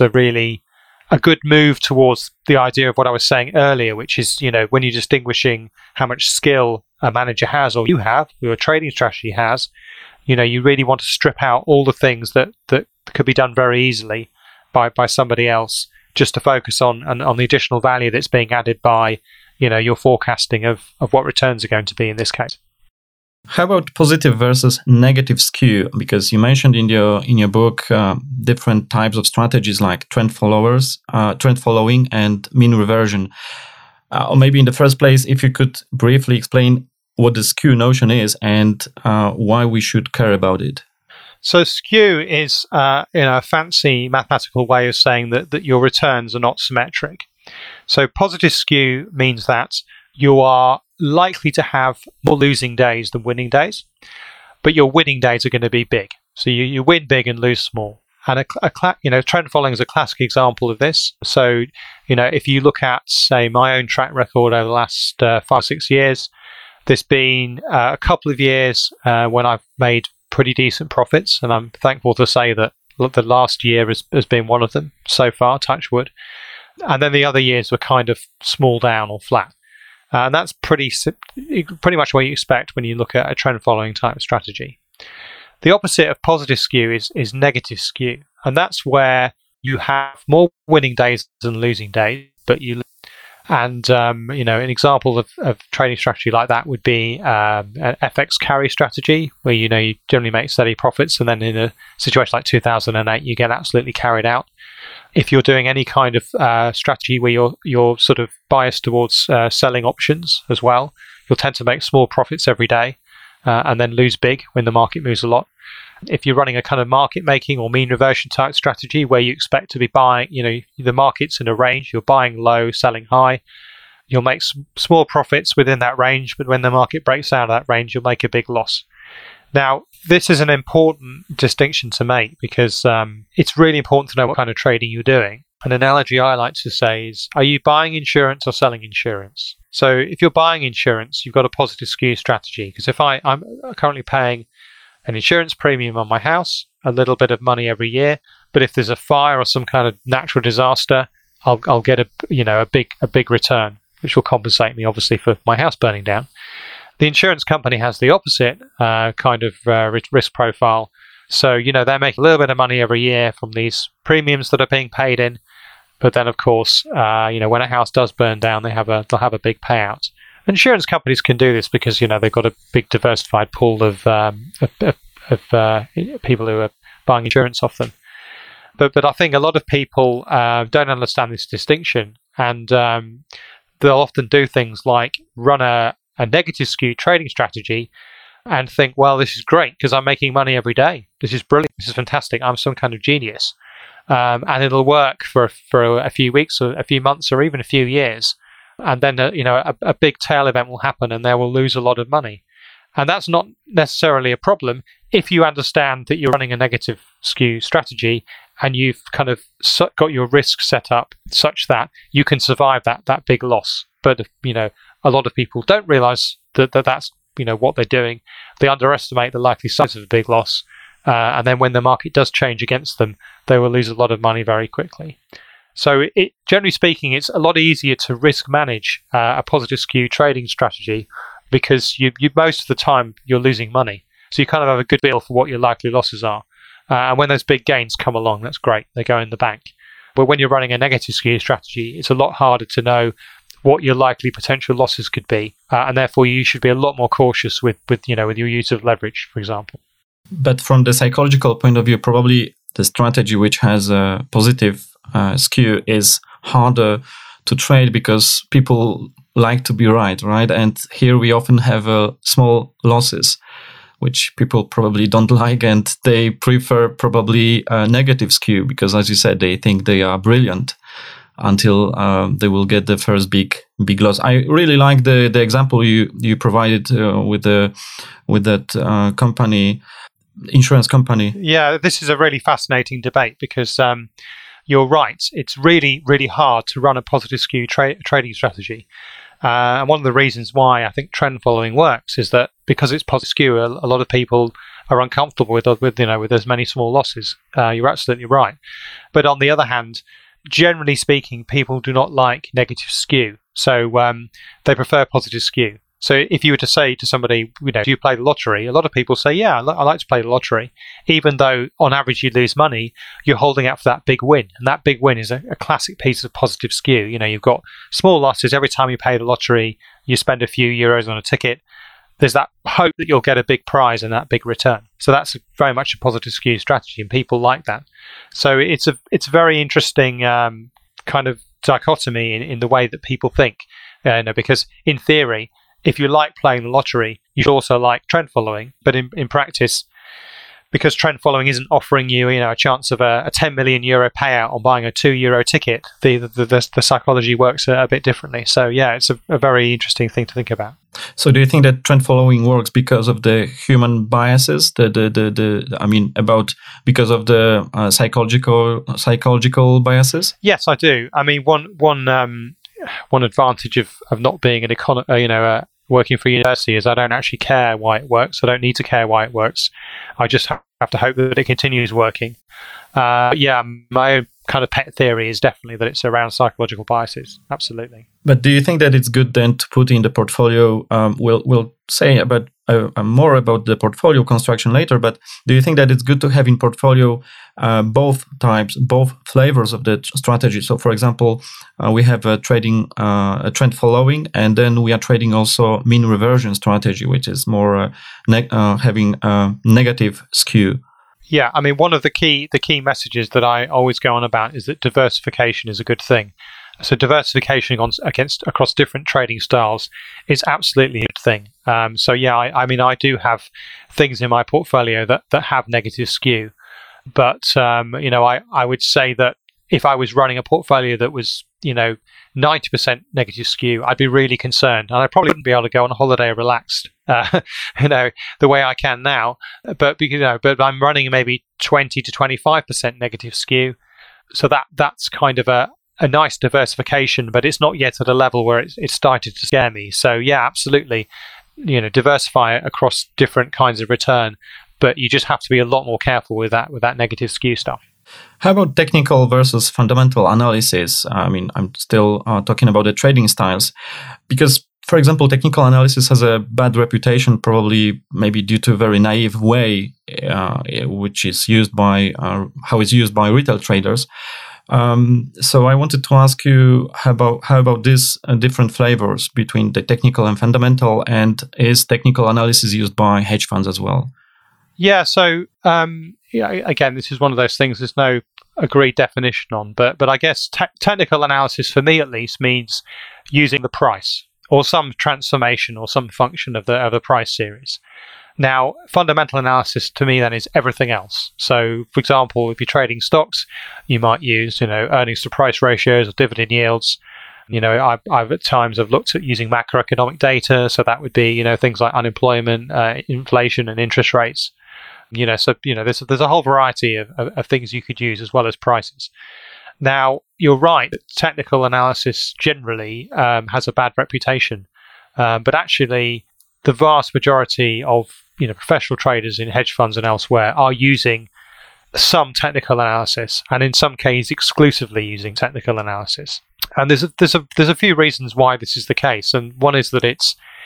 a good move towards the idea of what I was saying earlier, which is, when you're distinguishing how much skill a manager has, or you have, or your trading strategy has, you really want to strip out all the things that could be done very easily by somebody else, just to focus on the additional value that's being added by, your forecasting of what returns are going to be in this case. How about positive versus negative skew? Because you mentioned in your book different types of strategies like trend following, and mean reversion. Or maybe in the first place, if you could briefly explain what the skew notion is and why we should care about it. So skew is a fancy mathematical way of saying that your returns are not symmetric. So positive skew means that you are likely to have more losing days than winning days, but your winning days are going to be big. So you win big and lose small. And trend following is a classic example of this. So if you look at, say, my own track record over the last 5 or 6 years, there's been a couple of years when I've made pretty decent profits, and I'm thankful to say that the last year has been one of them so far, touch wood. And then the other years were kind of small down or flat. And that's pretty much what you expect when you look at a trend following type of strategy. The opposite of positive skew is negative skew. And that's where you have more winning days than losing days, but an example of trading strategy like that would be an FX carry strategy, where you generally make steady profits, and then in a situation like 2008, you get absolutely carried out. If you're doing any kind of strategy where you're sort of biased towards selling options as well, you'll tend to make small profits every day and then lose big when the market moves a lot. If you're running a kind of market making or mean reversion type strategy where you expect to be buying, the market's in a range, you're buying low, selling high, you'll make small profits within that range, but when the market breaks out of that range, you'll make a big loss. Now, this is an important distinction to make, because it's really important to know what kind of trading you're doing. An analogy I like to say is, are you buying insurance or selling insurance? So if you're buying insurance, you've got a positive skew strategy, because if I'm currently paying an insurance premium on my house, a little bit of money every year, but if there's a fire or some kind of natural disaster, I'll get a big return, which will compensate me obviously for my house burning down. The insurance company has the opposite kind of risk profile. So, they make a little bit of money every year from these premiums that are being paid in. But then, of course, when a house does burn down, they'll have a big payout. Insurance companies can do this because, they've got a big diversified pool of people who are buying insurance off them. But I think a lot of people don't understand this distinction, and they'll often do things like run a negative skew trading strategy and think, well, this is great because I'm making money every day. This is brilliant. This is fantastic. I'm some kind of genius. And it'll work for a few weeks or a few months or even a few years. And then, a big tail event will happen and they will lose a lot of money. And that's not necessarily a problem if you understand that you're running a negative skew strategy and you've kind of got your risk set up such that you can survive that big loss. But, a lot of people don't realize that's, what they're doing. They underestimate the likely size of a big loss. And then when the market does change against them, they will lose a lot of money very quickly. So generally speaking, it's a lot easier to risk manage a positive skew trading strategy because you most of the time you're losing money. So you kind of have a good feel for what your likely losses are. And when those big gains come along, that's great. They go in the bank. But when you're running a negative skew strategy, it's a lot harder to know what your likely potential losses could be, and therefore you should be a lot more cautious with your use of leverage, for example. But from the psychological point of view, probably the strategy which has a positive skew is harder to trade because people like to be right? And here we often have small losses, which people probably don't like, and they prefer probably a negative skew because, as you said, they think they are brilliant until they will get the first big loss. I really like the example you provided with that company, insurance company. Yeah, this is a really fascinating debate because you're right. It's really, really hard to run a positive skew trading strategy. And one of the reasons why I think trend following works is that because it's positive skew, a lot of people are uncomfortable with as many small losses. You're absolutely right. But on the other hand, generally speaking, people do not like negative skew. So they prefer positive skew. So if you were to say to somebody, do you play the lottery? A lot of people say, yeah, I like to play the lottery. Even though on average you lose money, you're holding out for that big win. And that big win is a classic piece of positive skew. You've got small losses. Every time you pay the lottery, you spend a few euros on a ticket. There's that hope that you'll get a big prize and that big return. So that's very much a positive skew strategy, and people like that. So it's a very interesting kind of dichotomy in the way that people think. Because in theory, if you like playing the lottery, you should also like trend following. But in practice, because trend following isn't offering you, a chance of a 10 million euro payout on buying a €2 ticket, the psychology works a bit differently. So yeah, it's a very interesting thing to think about. So do you think that trend following works because of the human biases? Because of the psychological biases? Yes, I do. I mean, one advantage of not being working for a university is I don't actually care why it works. I don't need to care why it works. I just have to hope that it continues working. My kind of pet theory is definitely that it's around psychological biases. Absolutely. But do you think that it's good then to put in the portfolio? We'll say about more about the portfolio construction later. But do you think that it's good to have in portfolio both flavors of the strategy? So, for example, we have a trend following, and then we are trading also mean reversion strategy, which is more having a negative skew. Yeah, I mean, one of the key messages that I always go on about is that diversification is a good thing. So diversification across different trading styles is absolutely a good thing. I do have things in my portfolio that have negative skew, but I would say that if I was running a portfolio that was 90% negative skew, I'd be really concerned, and I probably wouldn't be able to go on holiday relaxed, the way I can now. But I'm running maybe 20 to 25% negative skew, so that's kind of a nice diversification, but it's not yet at a level where it's started to scare me. So yeah, absolutely, diversify across different kinds of return, but you just have to be a lot more careful with that negative skew stuff. How about technical versus fundamental analysis? I mean, I'm still talking about the trading styles, because, for example, technical analysis has a bad reputation, probably maybe due to a very naive way, which is used by how it's used by retail traders. So I wanted to ask you how about these different flavors between the technical and fundamental, and is technical analysis used by hedge funds as well? Yeah. So again, this is one of those things there's no agreed definition on, but I guess technical analysis for me at least means using the price or some transformation or some function of the price series. Now, fundamental analysis to me then is everything else. So, for example, if you're trading stocks, you might use earnings to price ratios or dividend yields. I've at times have looked at using macroeconomic data, so that would be things like unemployment, inflation, and interest rates. There's a whole variety of things you could use as well as prices. Now, you're right that technical analysis generally has a bad reputation, but actually the vast majority of professional traders in hedge funds and elsewhere are using some technical analysis, and in some cases exclusively using technical analysis. And there's a few reasons why this is the case, and one is that it's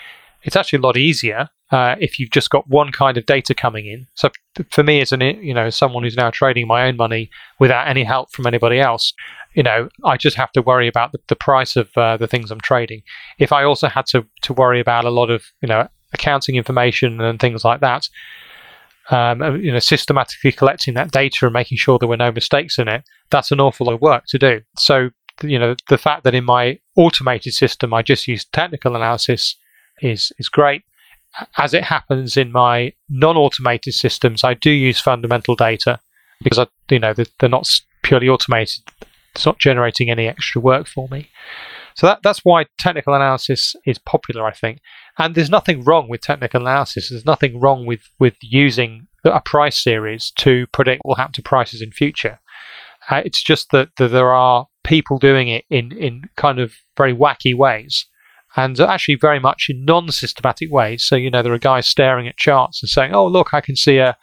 it's actually a lot easier if you've just got one kind of data coming in. So for me, as someone who's now trading my own money without any help from anybody else, I just have to worry about the price of the things I'm trading. If I also had to worry about a lot of accounting information and things like that, systematically collecting that data and making sure there were no mistakes in it, that's an awful lot of work to do. So the fact that in my automated system I just use technical analysis is great. As it happens, in my non-automated systems, I do use fundamental data because they're not purely automated. It's not generating any extra work for me. So that's why technical analysis is popular, I think. And there's nothing wrong with technical analysis. There's nothing wrong with using a price series to predict what will happen to prices in future. It's just that there are people doing it in kind of very wacky ways, and actually very much in non-systematic ways. So there are guys staring at charts and saying, "Oh, look, I can see a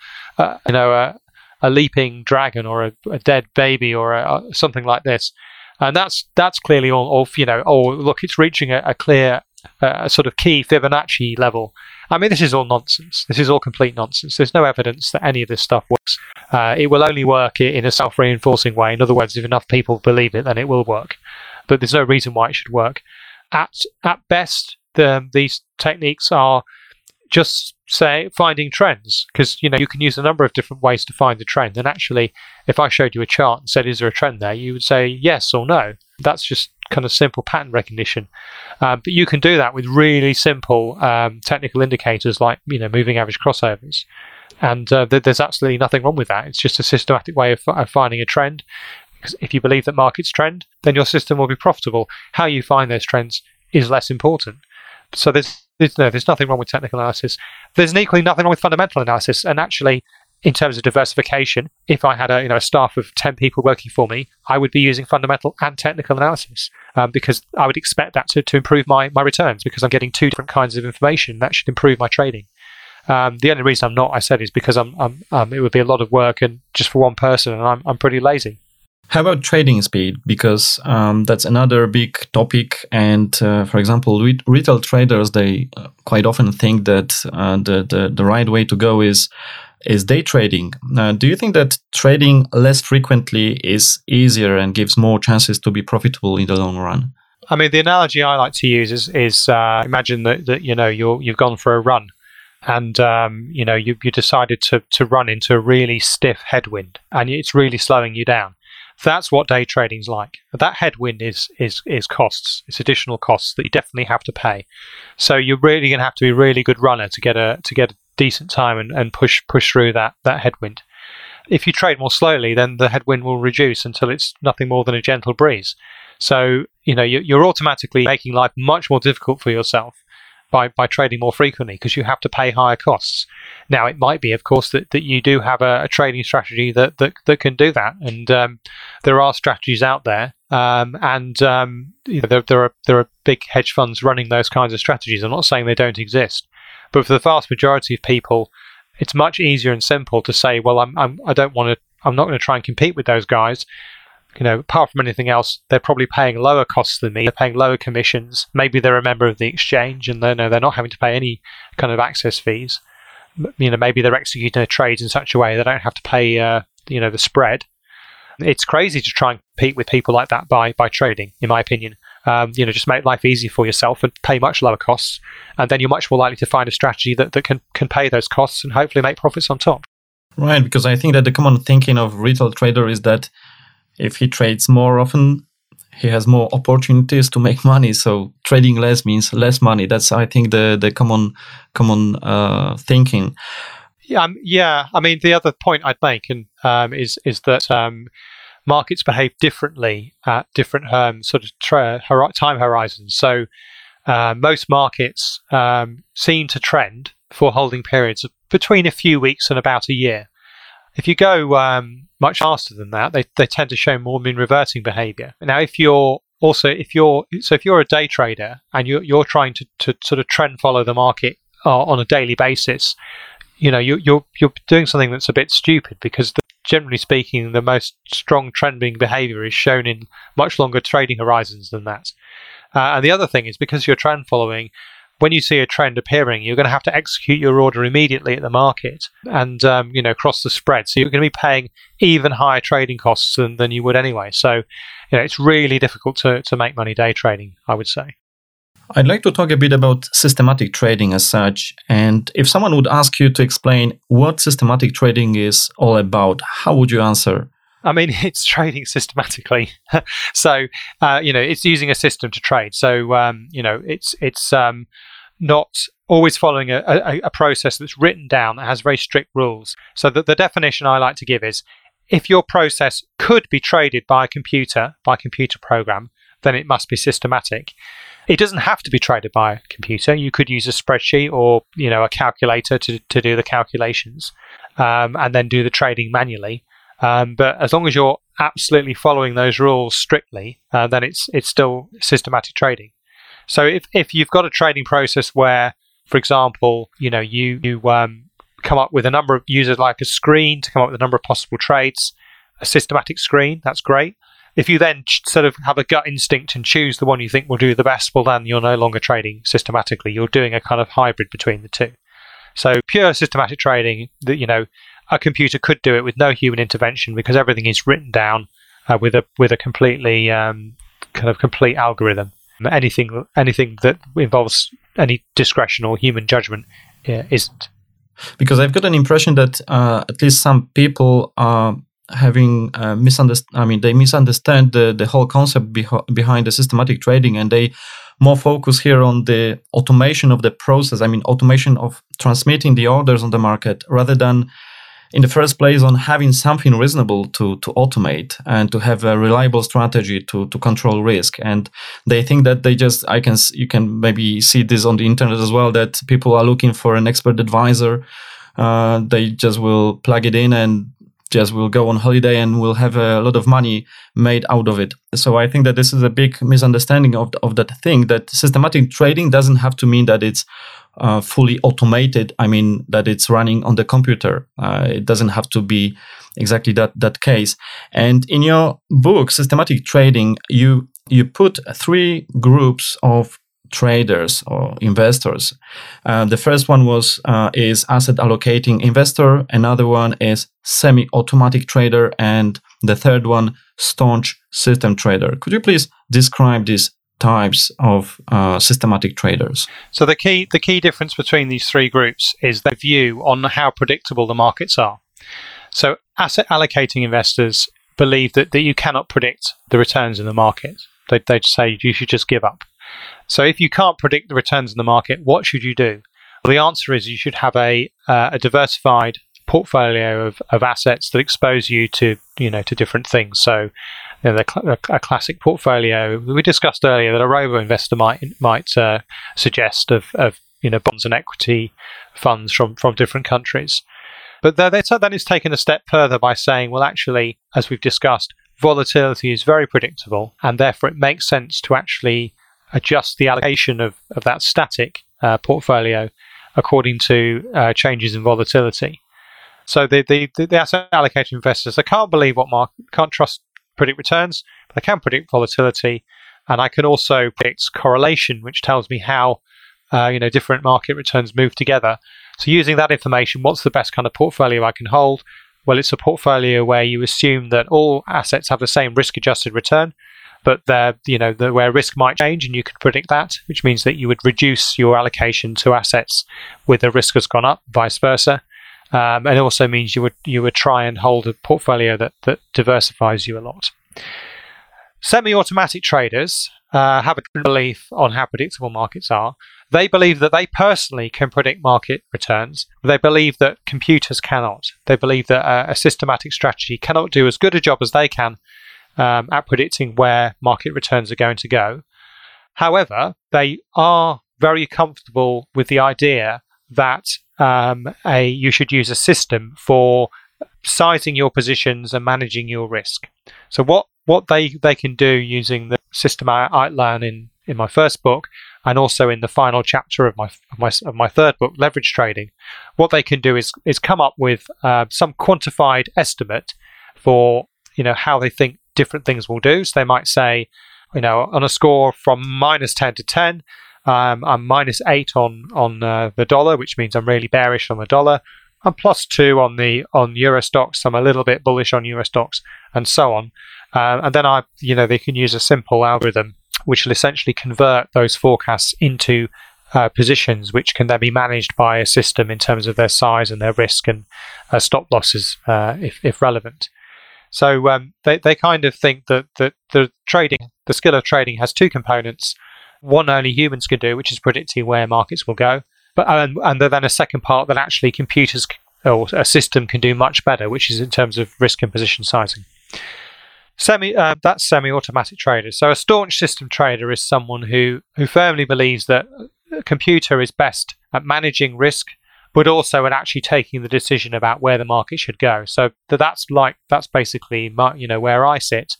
leaping dragon or a dead baby or something like this," and that's clearly all. Oh, look, it's reaching a clear sort of key Fibonacci level. I mean, this is all nonsense. This is all complete nonsense. There's no evidence that any of this stuff works. It will only work in a self-reinforcing way. In other words, if enough people believe it, then it will work. But there's no reason why it should work. At best, these techniques are just finding trends, because you can use a number of different ways to find a trend. And actually, if I showed you a chart and said, "Is there a trend there?" you would say yes or no. That's just kind of simple pattern recognition. But you can do that with really simple technical indicators like moving average crossovers. And there's absolutely nothing wrong with that. It's just a systematic way of finding a trend. Because if you believe that markets trend, then your system will be profitable. How you find those trends is less important. So there's nothing wrong with technical analysis. There's equally nothing wrong with fundamental analysis. And actually, in terms of diversification, if I had a staff of 10 people working for me, I would be using fundamental and technical analysis because I would expect that to improve my returns, because I'm getting two different kinds of information that should improve my trading. The only reason I'm not, I said, is because it would be a lot of work and just for one person, and I'm pretty lazy. How about trading speed? Because that's another big topic. And for example, retail traders, they quite often think that the right way to go is day trading. Do you think that trading less frequently is easier and gives more chances to be profitable in the long run? I mean, the analogy I like to use is imagine that you've gone for a run, and you decided to run into a really stiff headwind, and it's really slowing you down. That's what day trading's like. That headwind is costs. It's additional costs that you definitely have to pay. So you're really going to have to be a really good runner to get a decent time and push through that headwind. If you trade more slowly, then the headwind will reduce until it's nothing more than a gentle breeze. So you're automatically making life much more difficult for yourself by trading more frequently, because you have to pay higher costs. Now, it might be, of course, that you do have a trading strategy that can do that, and there are strategies out there, and there are big hedge funds running those kinds of strategies. I'm not saying they don't exist, but for the vast majority of people, it's much easier and simple to say, well, I'm not going to try and compete with those guys. Apart from anything else, they're probably paying lower costs than me. They're paying lower commissions. Maybe they're a member of the exchange and they're not having to pay any kind of access fees. Maybe they're executing their trades in such a way they don't have to pay, the spread. It's crazy to try and compete with people like that by trading, in my opinion. Just make life easy for yourself and pay much lower costs, and then you're much more likely to find a strategy that can pay those costs and hopefully make profits on top. Right, because I think that the common thinking of retail trader is that if he trades more often, he has more opportunities to make money. So trading less means less money. That's, I think, the common thinking. Yeah. I mean, the other point I'd make is that markets behave differently at different sort of time horizons. So most markets seem to trend for holding periods of between a few weeks and about a year. If you go much faster than that, they tend to show more mean reverting behavior. Now, if you're a day trader and you're trying to sort of trend follow the market on a daily basis, you're doing something that's a bit stupid, because generally speaking, the most strong trending behavior is shown in much longer trading horizons than that. And the other thing is, because you're trend following, when you see a trend appearing, you're going to have to execute your order immediately at the market and cross the spread. So you're going to be paying even higher trading costs than you would anyway. So it's really difficult to make money day trading, I would say. I'd like to talk a bit about systematic trading as such. And if someone would ask you to explain what systematic trading is all about, how would you answer? I mean, it's trading systematically. So, it's using a system to trade. So, it's not always following a process that's written down that has very strict rules. So the definition I like to give is, if your process could be traded by a computer program, then it must be systematic. It doesn't have to be traded by a computer. You could use a spreadsheet or a calculator to do the calculations, and then do the trading manually. But as long as you're absolutely following those rules strictly, then it's still systematic trading. So if you've got a trading process where, for example, you come up with a number of users, like a screen to come up with a number of possible trades, a systematic screen, that's great. If you then sort of have a gut instinct and choose the one you think will do the best, well, then you're no longer trading systematically. You're doing a kind of hybrid between the two. So pure systematic trading, a computer could do it with no human intervention because everything is written down with a completely complete algorithm. Anything that involves any discretion or human judgment isn't. Because I've got an impression that at least some people are having they misunderstand the whole concept behind the systematic trading, and they more focus here on the automation of the process. I mean, automation of transmitting the orders on the market, rather than in the first place on having something reasonable to automate and to have a reliable strategy to control risk. And they think that you can maybe see this on the internet as well, that people are looking for an expert advisor. They just will plug it in and just will go on holiday and will have a lot of money made out of it. So I think that this is a big misunderstanding of that thing, that systematic trading doesn't have to mean that it's fully automated. I mean, that it's running on the computer. It doesn't have to be exactly that case. And in your book, Systematic Trading, you put three groups of traders or investors. The first one is asset allocating investor. Another one is semi-automatic trader, and the third one, staunch system trader. Could you please describe these types of systematic traders? So the key difference between these three groups is their view on how predictable the markets are. So asset allocating investors believe that you cannot predict the returns in the market. They'd say you should just give up. So if you can't predict the returns in the market, what should you do? Well, the answer is you should have a diversified portfolio of assets that expose you to different things. So a classic portfolio we discussed earlier that a robo investor might suggest of bonds and equity funds from different countries. But then it's taken a step further by saying, well, actually, as we've discussed, volatility is very predictable, and therefore it makes sense to actually adjust the allocation of that static portfolio according to changes in volatility. So the asset allocation investors, they can't predict returns, but they can predict volatility, and I can also predict correlation, which tells me how different market returns move together. So using that information, what's the best kind of portfolio I can hold? Well, it's a portfolio where you assume that all assets have the same risk-adjusted return, but where risk might change, and you can predict that, which means that you would reduce your allocation to assets where the risk has gone up, vice versa. And it also means you would try and hold a portfolio that diversifies you a lot. Semi-automatic traders have a different belief on how predictable markets are. They believe that they personally can predict market returns. They believe that computers cannot. They believe that a systematic strategy cannot do as good a job as they can at predicting where market returns are going to go. However, they are very comfortable with the idea that you should use a system for sizing your positions and managing your risk. So what they can do using the system I outline in my first book, and also in the final chapter of my third book, Leverage Trading, what they can do is come up with some quantified estimate for how they think different things will do. So they might say, on a score from -10 to 10, I'm -8 on the dollar, which means I'm really bearish on the dollar. I'm +2 on Euro stocks. I'm a little bit bullish on Euro stocks, and so on. And then they can use a simple algorithm which will essentially convert those forecasts into positions, which can then be managed by a system in terms of their size and their risk and stop losses, if relevant. So they kind of think that the skill of trading has two components. One only humans can do, which is predicting where markets will go. But and then a second part that actually computers or a system can do much better, which is in terms of risk and position sizing. That's semi-automatic traders. So a staunch system trader is someone who firmly believes that a computer is best at managing risk, but also at actually taking the decision about where the market should go. So that's basically where I sit.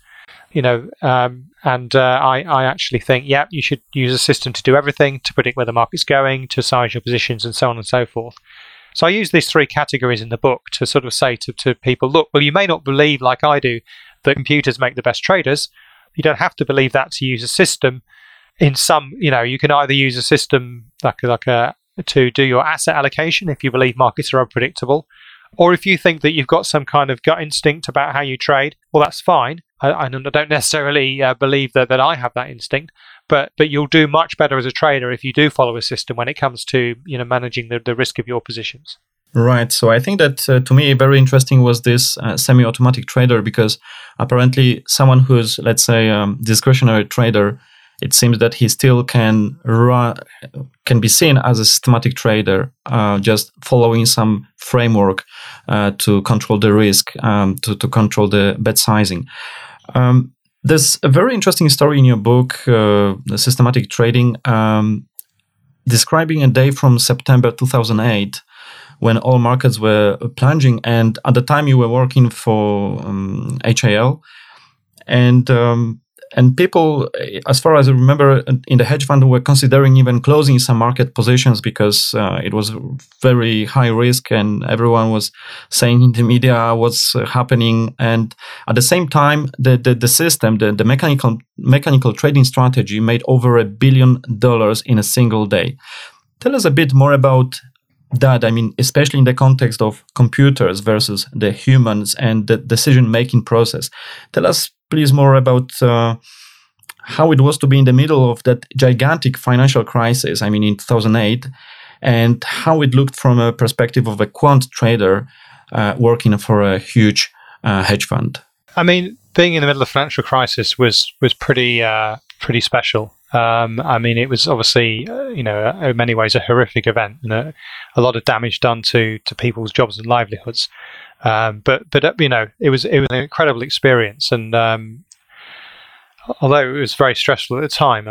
I actually think, you should use a system to do everything, to predict where the market's going, to size your positions, and so on and so forth. So I use these three categories in the book to sort of say to people, look, well, you may not believe, like I do, that computers make the best traders. You don't have to believe that to use a system. In some, you can either use a system to do your asset allocation if you believe markets are unpredictable, or if you think that you've got some kind of gut instinct about how you trade, well, that's fine. I don't necessarily believe that I have that instinct, but you'll do much better as a trader if you do follow a system when it comes to managing the risk of your positions. Right. So I think that to me very interesting was this semi-automatic trader, because apparently someone who's, let's say, discretionary trader, it seems that he still can be seen as a systematic trader, just following some framework to control the risk, to control the bet sizing. There's a very interesting story in your book, The Systematic Trading, describing a day from September 2008 when all markets were plunging, and at the time you were working for HAL, and people, as far as I remember, in the hedge fund were considering even closing some market positions because it was very high risk, and everyone was saying in the media what's happening. And at the same time, the system, the mechanical trading strategy made over $1 billion in a single day. Tell us a bit more about that. I mean, especially in the context of computers versus the humans and the decision-making process. Tell us, please, more about how it was to be in the middle of that gigantic financial crisis, I mean, in 2008, and how it looked from a perspective of a quant trader working for a huge hedge fund. I mean, being in the middle of the financial crisis was pretty special. I mean, it was obviously, in many ways a horrific event, and a lot of damage done to people's jobs and livelihoods. But it was an incredible experience, and although it was very stressful at the time,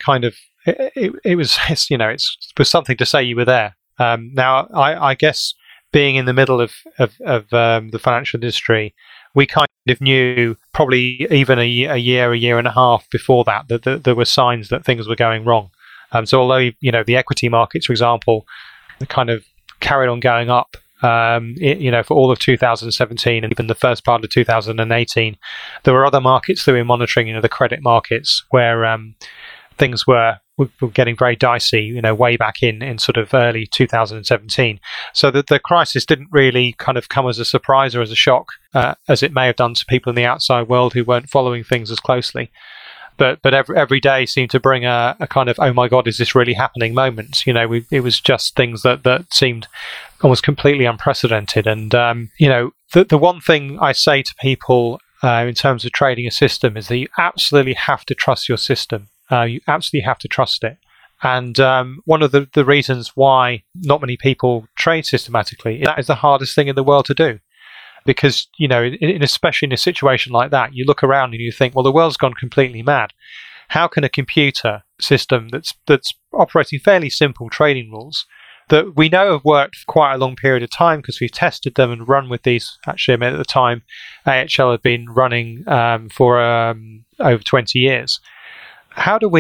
it was something to say you were there. Now, I guess being in the middle of the financial industry, we kind of knew probably even a year and a half before that there were signs that things were going wrong. So although the equity markets, for example, kind of carried on going up, for all of 2017 and even the first part of 2018, there were other markets that we were monitoring, the credit markets, where things were getting very dicey, way back in sort of early 2017. So that the crisis didn't really kind of come as a surprise or as a shock, as it may have done to people in the outside world who weren't following things as closely. But every day seemed to bring a kind of, oh my God, is this really happening moment? It was just things that seemed almost completely unprecedented. And, the one thing I say to people in terms of trading a system is that you absolutely have to trust your system. You absolutely have to trust it. And one of the reasons why not many people trade systematically, that is the hardest thing in the world to do. Because, especially in a situation like that, you look around and you think, well, the world's gone completely mad. How can a computer system that's operating fairly simple trading rules that we know have worked for quite a long period of time because we've tested them and run with these? Actually, I mean, at the time, AHL had been running for over 20 years. How can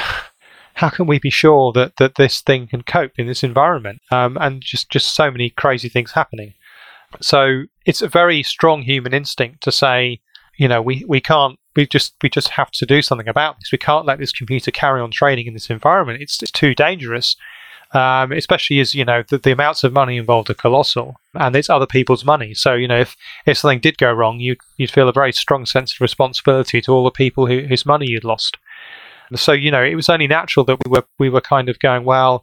we be sure that this thing can cope in this environment? And just so many crazy things happening. So it's a very strong human instinct to say, we can't. We just have to do something about this. We can't let this computer carry on trading in this environment. It's too dangerous, especially as the amounts of money involved are colossal, and it's other people's money. So if something did go wrong, you'd feel a very strong sense of responsibility to all the people whose money you'd lost. So it was only natural that we were kind of going, well,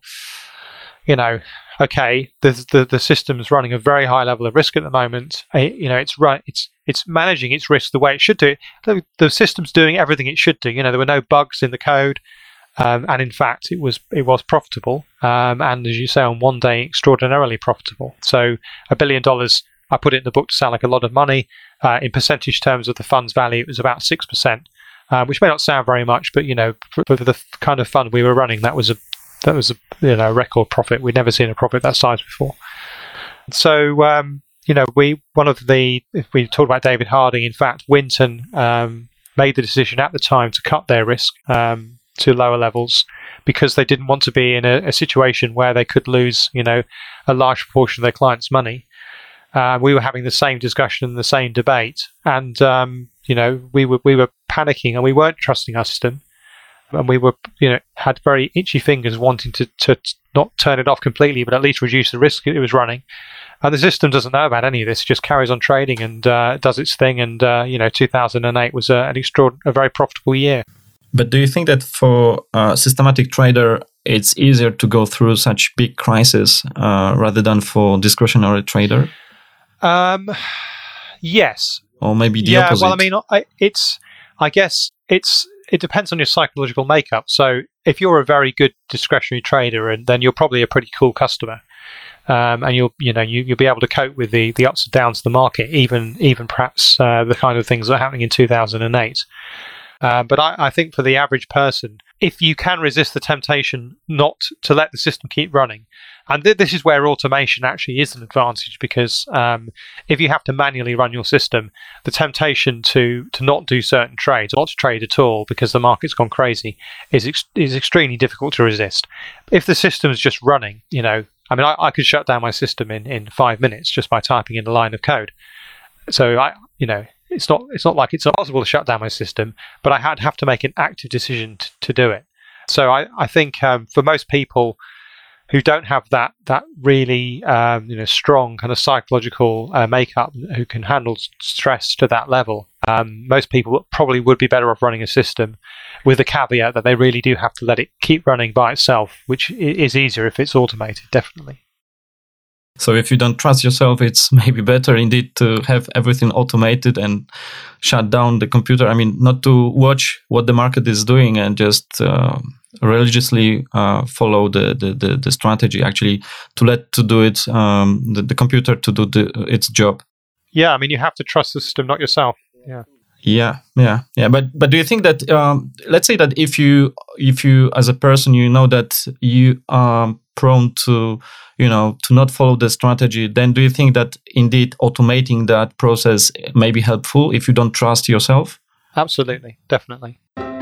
okay, the system's running a very high level of risk at the moment. It's managing its risk the way it should do. The system's doing everything it should do. There were no bugs in the code, and in fact, it was profitable. And as you say, on one day, extraordinarily profitable. So $1 billion, I put it in the book to sound like a lot of money. In percentage terms of the fund's value, it was about 6%, which may not sound very much, but for the kind of fund we were running, that was a record profit. We'd never seen a profit that size before. So if we talk about David Harding, in fact, Winton made the decision at the time to cut their risk to lower levels because they didn't want to be in a situation where they could lose a large proportion of their clients' money. We were having the same discussion, the same debate, and we were panicking and we weren't trusting our system. And we were, had very itchy fingers wanting to not turn it off completely, but at least reduce the risk it was running. And the system doesn't know about any of this; it just carries on trading and does its thing. And 2008 was a very profitable year. But do you think that for a systematic trader, it's easier to go through such big crises rather than for discretionary trader? Yes. Or maybe the opposite. Well, I mean, I guess it depends on your psychological makeup. So if you're a very good discretionary trader, and then you're probably a pretty cool customer, and you'll be able to cope with the ups and downs of the market, even perhaps the kind of things that are happening in 2008. But I think for the average person, if you can resist the temptation not to let the system keep running, and this is where automation actually is an advantage, because if you have to manually run your system, the temptation to not do certain trades, or not to trade at all because the market's gone crazy, is extremely difficult to resist. If the system's just running, I could shut down my system in 5 minutes just by typing in a line of code. So it's not like it's impossible to shut down my system, but I have to make an active decision to do it. So I think for most people who don't have that really strong kind of psychological makeup, who can handle stress to that level, most people probably would be better off running a system with the caveat that they really do have to let it keep running by itself, which is easier if it's automated, definitely. So if you don't trust yourself, it's maybe better indeed to have everything automated and shut down the computer. I mean, not to watch what the market is doing and just religiously follow the strategy. Actually, to do it, the computer to do its job. Yeah, I mean, you have to trust the system, not yourself. Yeah. Yeah. But do you think that let's say that if you as a person that you are prone to to not follow the strategy, then do you think that indeed automating that process may be helpful if you don't trust yourself? Absolutely, definitely.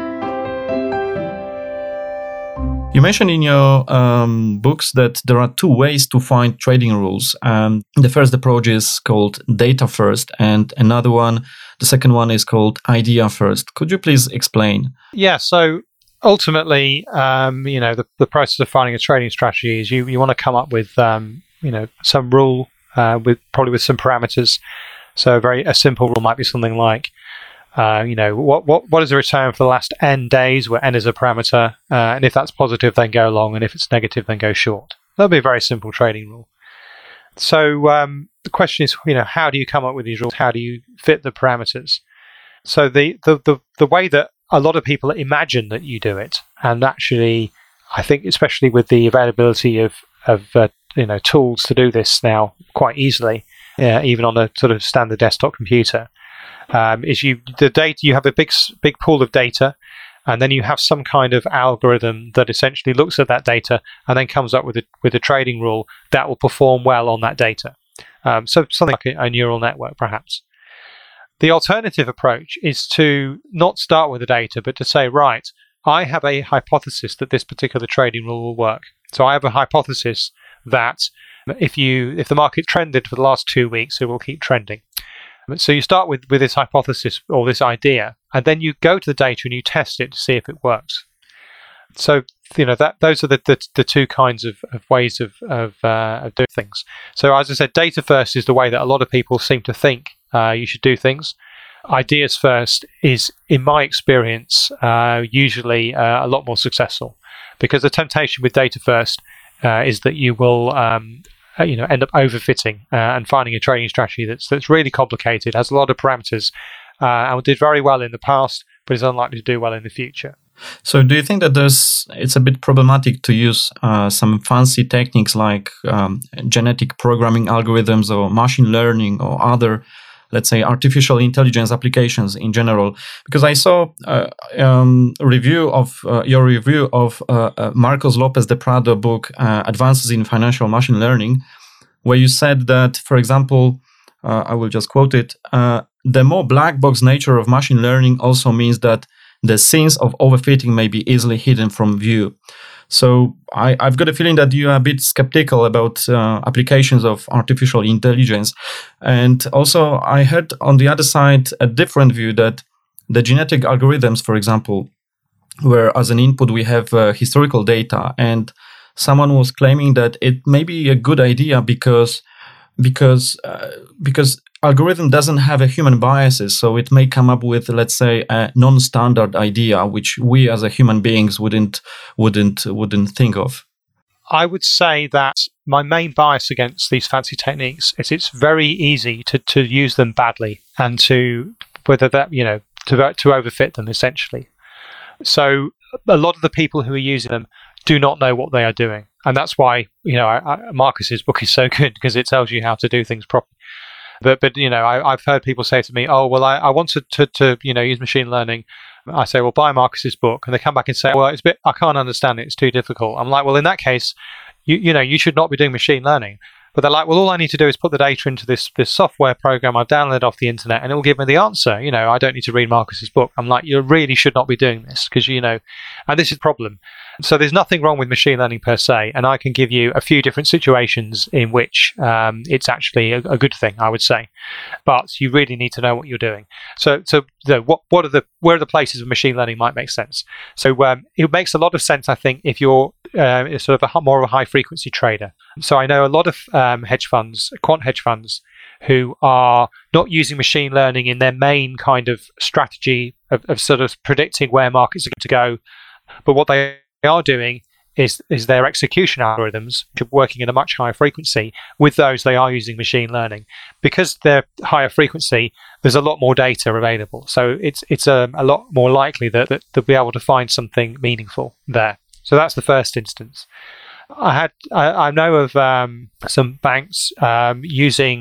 You mentioned in your books that there are two ways to find trading rules. The first approach is called data first, and the second one is called idea first. Could you please explain? Yeah, so ultimately, the process of finding a trading strategy is you want to come up with some rule with some parameters. So a simple rule might be something like what is the return for the last n days, where n is a parameter, and if that's positive, then go long, and if it's negative, then go short. That'll be a very simple trading rule. So the question is, how do you come up with these rules? How do you fit the parameters? So the way that a lot of people imagine that you do it, and actually, I think especially with the availability of tools to do this now quite easily, even on a sort of standard desktop computer, is you have a big pool of data, and then you have some kind of algorithm that essentially looks at that data and then comes up with a trading rule that will perform well on that data. So something like a neural network, perhaps. The alternative approach is to not start with the data, but to say, right, I have a hypothesis that this particular trading rule will work. So I have a hypothesis that if the market trended for the last 2 weeks, it will keep trending. So you start with this hypothesis or this idea, and then you go to the data and you test it to see if it works. So those are the two kinds of ways of doing things. So as I said, data first is the way that a lot of people seem to think you should do things. Ideas first is, in my experience, usually a lot more successful, because the temptation with data first is that you will end up overfitting and finding a trading strategy that's really complicated, has a lot of parameters, and did very well in the past, but is unlikely to do well in the future. So do you think that it's a bit problematic to use some fancy techniques like genetic programming algorithms or machine learning or other, let's say, artificial intelligence applications in general? Because I saw your review of Marcos Lopez de Prado book, Advances in Financial Machine Learning, where you said that, for example, I will just quote it, the more black box nature of machine learning also means that the sins of overfitting may be easily hidden from view. So I've got a feeling that you are a bit skeptical about applications of artificial intelligence. And also I heard on the other side a different view, that the genetic algorithms, for example, where as an input we have historical data, and someone was claiming that it may be a good idea because algorithm doesn't have a human biases, so it may come up with, let's say, a non-standard idea which we as a human beings wouldn't think of. I would say that my main bias against these fancy techniques is it's very easy to use them badly, and to overfit them essentially. So a lot of the people who are using them do not know what they are doing, and that's why Marcus's book is so good, because it tells you how to do things properly. But I've heard people say to me, "Oh, well, I wanted to use machine learning." I say, "Well, buy Marcus's book," and they come back and say, "Well, I can't understand it. It's too difficult." I'm like, "Well, in that case, you should not be doing machine learning." But they're like, "Well, all I need to do is put the data into this software program I've downloaded off the internet, and it will give me the answer. I don't need to read Marcus's book." I'm like, "You really should not be doing this, because and this is the problem." So there's nothing wrong with machine learning per se, and I can give you a few different situations in which it's actually a good thing, I would say. But you really need to know what you're doing. So where are the places of machine learning might make sense? So it makes a lot of sense, I think, if you're sort of more of a high frequency trader. So I know a lot of hedge funds, quant hedge funds, who are not using machine learning in their main kind of strategy of sort of predicting where markets are going to go, but what they are doing is their execution algorithms, which are working at a much higher frequency. With those, they are using machine learning. Because they're higher frequency, there's a lot more data available. So it's a lot more likely that they'll be able to find something meaningful there. So that's the first instance. I know of some banks using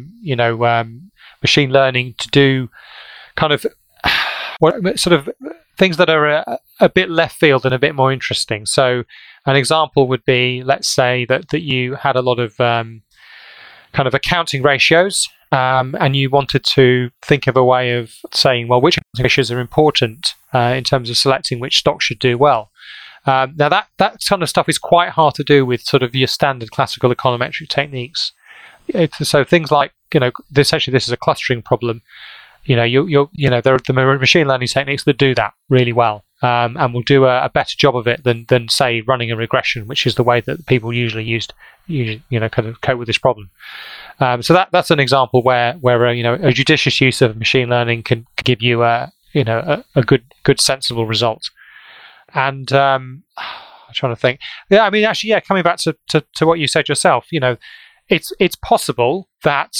machine learning to do kind of sort of things that are a bit left field and a bit more interesting. So an example would be, let's say that you had a lot of kind of accounting ratios, and you wanted to think of a way of saying, well, which accounting ratios are important in terms of selecting which stocks should do well. Now that kind of stuff is quite hard to do with sort of your standard classical econometric techniques. So things like, essentially this is a clustering problem. There are the machine learning techniques that do that really well, and will do a better job of it than say running a regression, which is the way that people usually kind of cope with this problem. So that's an example where a judicious use of machine learning can give you a good sensible result. And I'm trying to think. Yeah, I mean, actually, yeah. Coming back to what you said yourself, it's possible that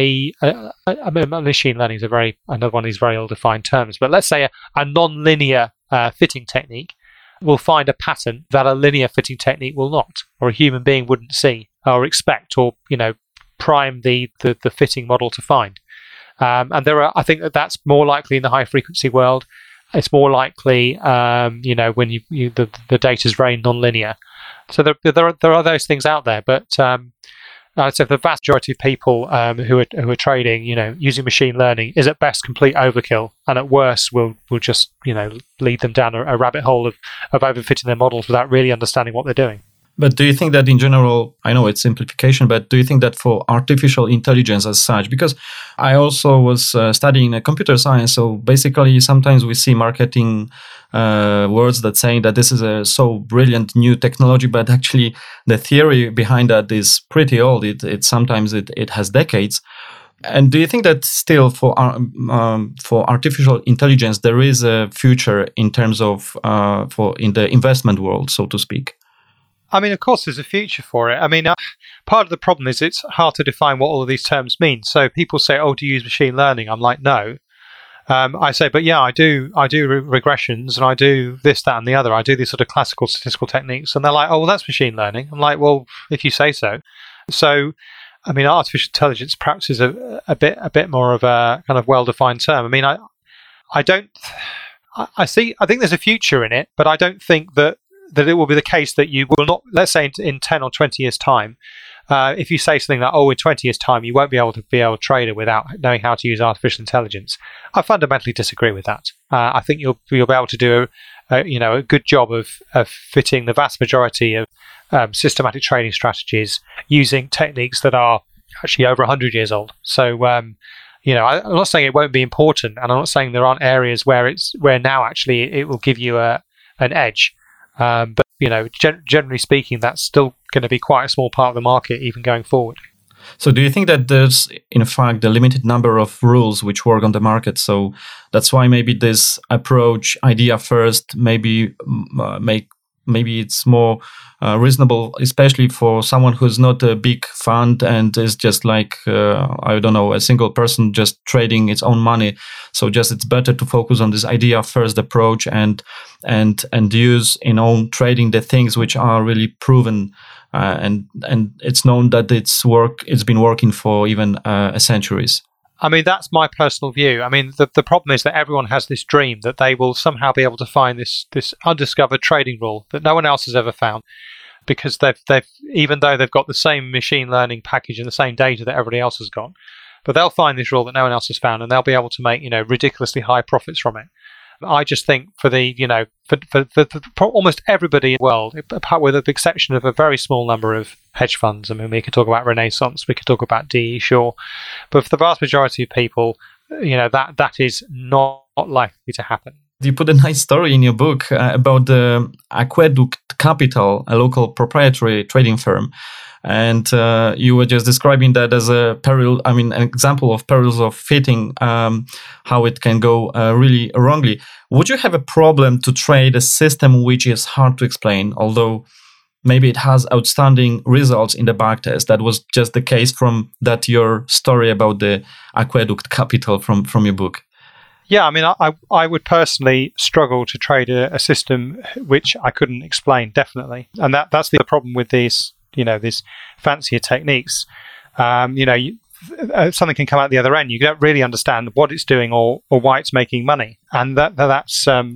machine learning is another one of these very ill-defined terms. But let's say a non-linear fitting technique will find a pattern that a linear fitting technique will not, or a human being wouldn't see or expect, or prime the fitting model to find. And I think that's more likely in the high frequency world. It's more likely, when the data is very non-linear. So there are those things out there, but I'd say the vast majority of people who are trading, using machine learning is at best complete overkill, and at worst will just lead them down a rabbit hole of overfitting their models without really understanding what they're doing. But do you think that in general, I know it's simplification, but do you think that for artificial intelligence as such, because I also was studying computer science, so basically sometimes we see marketing words that saying that this is a so brilliant new technology, but actually the theory behind that is pretty old. It sometimes it has decades. And do you think that still for artificial intelligence there is a future in terms of for in the investment world, so to speak? I mean, of course, there's a future for it. I mean, part of the problem is it's hard to define what all of these terms mean. So people say, "Oh, do you use machine learning?" I'm like, "No." I say, "But yeah, I do regressions, and I do this, that, and the other. I do these sort of classical statistical techniques." And they're like, "Oh, well, that's machine learning." I'm like, "Well, if you say so." So, I mean, artificial intelligence perhaps is a bit more of a kind of well-defined term. I mean, I think there's a future in it, but I don't think that it will be the case that you will not, let's say in 10 or 20 years' time, if you say something like, oh, in 20 years' time, you won't be able to trade it without knowing how to use artificial intelligence. I fundamentally disagree with that. I think you'll be able to do a good job of fitting the vast majority of systematic trading strategies using techniques that are actually over 100 years old. So, I'm not saying it won't be important, and I'm not saying there aren't areas where now actually it will give you an edge. But generally speaking, that's still going to be quite a small part of the market, even going forward. So do you think that there's, in fact, a limited number of rules which work on the market? So that's why maybe this approach, idea first, maybe it's more reasonable, especially for someone who's not a big fund and is just like, a single person just trading its own money. So just it's better to focus on this idea first approach and use in own trading the things which are really proven. And it's known that it's been working for even centuries. I mean, that's my personal view. I mean, the problem is that everyone has this dream that they will somehow be able to find this undiscovered trading rule that no one else has ever found, because they've even though they've got the same machine learning package and the same data that everybody else has got, but they'll find this rule that no one else has found, and they'll be able to make ridiculously high profits from it. I just think for almost everybody in the world, apart with the exception of a very small number of hedge funds. I mean, we could talk about Renaissance, we could talk about D.E. Shaw, but for the vast majority of people, that is not likely to happen. You put a nice story in your book about the Aqueduct Capital, a local proprietary trading firm. And you were just describing that as an example of perils of fitting, how it can go really wrongly. Would you have a problem to trade a system which is hard to explain, although maybe it has outstanding results in the backtest? That was just the case from your story about the Aqueduct Capital from your book. Yeah, I mean, I would personally struggle to trade a system which I couldn't explain, definitely. And that's the problem with these fancier techniques. Something can come out the other end. You don't really understand what it's doing or why it's making money. And that's I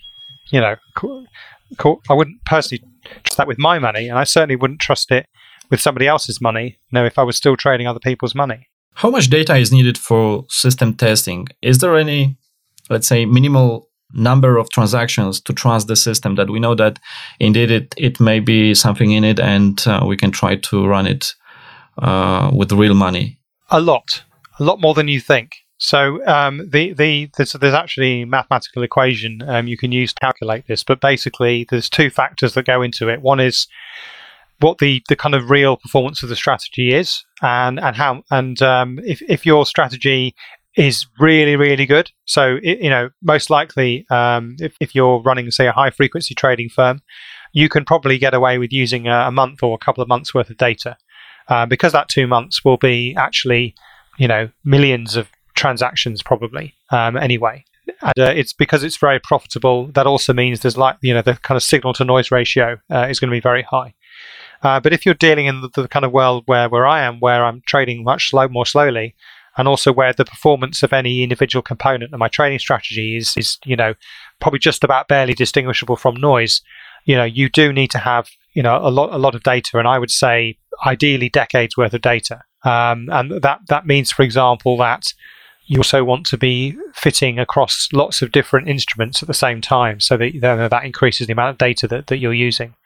wouldn't personally trust that with my money, and I certainly wouldn't trust it with somebody else's money, if I was still trading other people's money. How much data is needed for system testing? Is there any, let's say, minimal number of transactions to trust the system that we know that indeed it may be something in it and we can try to run it with real money? A lot more than you think. So there's actually a mathematical equation you can use to calculate this, but basically there's two factors that go into it. One is what the kind of real performance of the strategy is, and how, and if your strategy is really, really good. So, most likely, if you're running, say, a high frequency trading firm, you can probably get away with using a month or a couple of months worth of data, because that 2 months will be actually, millions of transactions probably, anyway. And it's because it's very profitable. That also means there's the kind of signal to noise ratio is going to be very high. But if you're dealing in the kind of world where I am, where I'm trading much more slowly, and also where the performance of any individual component of my trading strategy is probably just about barely distinguishable from noise, you do need to have a lot of data, and I would say ideally decades worth of data. And that means, for example, that you also want to be fitting across lots of different instruments at the same time, so that increases the amount of data that you're using.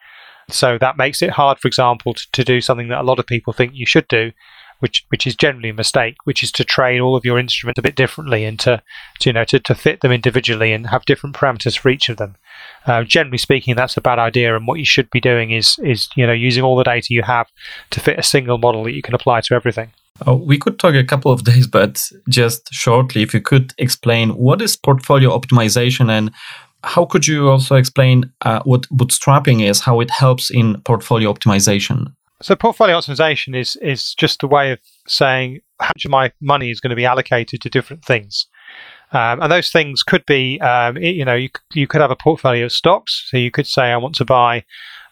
So that makes it hard, for example, to do something that a lot of people think you should do, which is generally a mistake, which is to train all of your instruments a bit differently and to fit them individually and have different parameters for each of them. Generally speaking, that's a bad idea, and what you should be doing is using all the data you have to fit a single model that you can apply to everything. Oh, we could talk a couple of days, but just shortly, if you could explain what is portfolio optimization, and how could you also explain what bootstrapping is, how it helps in portfolio optimization? So portfolio optimization is just a way of saying how much of my money is going to be allocated to different things. And those things could be, you could have a portfolio of stocks. So you could say, I want to buy,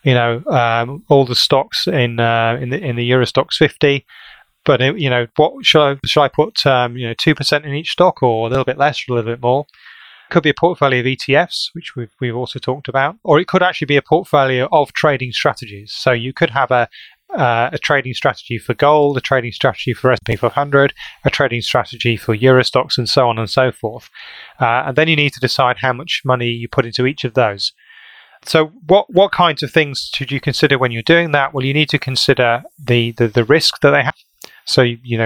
all the stocks in the Euro Stoxx 50. But what should I put? 2% in each stock, or a little bit less, or a little bit more. It could be a portfolio of ETFs, which we've also talked about, or it could actually be a portfolio of trading strategies. So you could have a trading strategy for gold, a trading strategy for S&P 500, a trading strategy for Euro Stoxx, and so on and so forth. And then you need to decide how much money you put into each of those. So what kinds of things should you consider when you're doing that? Well, you need to consider the risk that they have. So,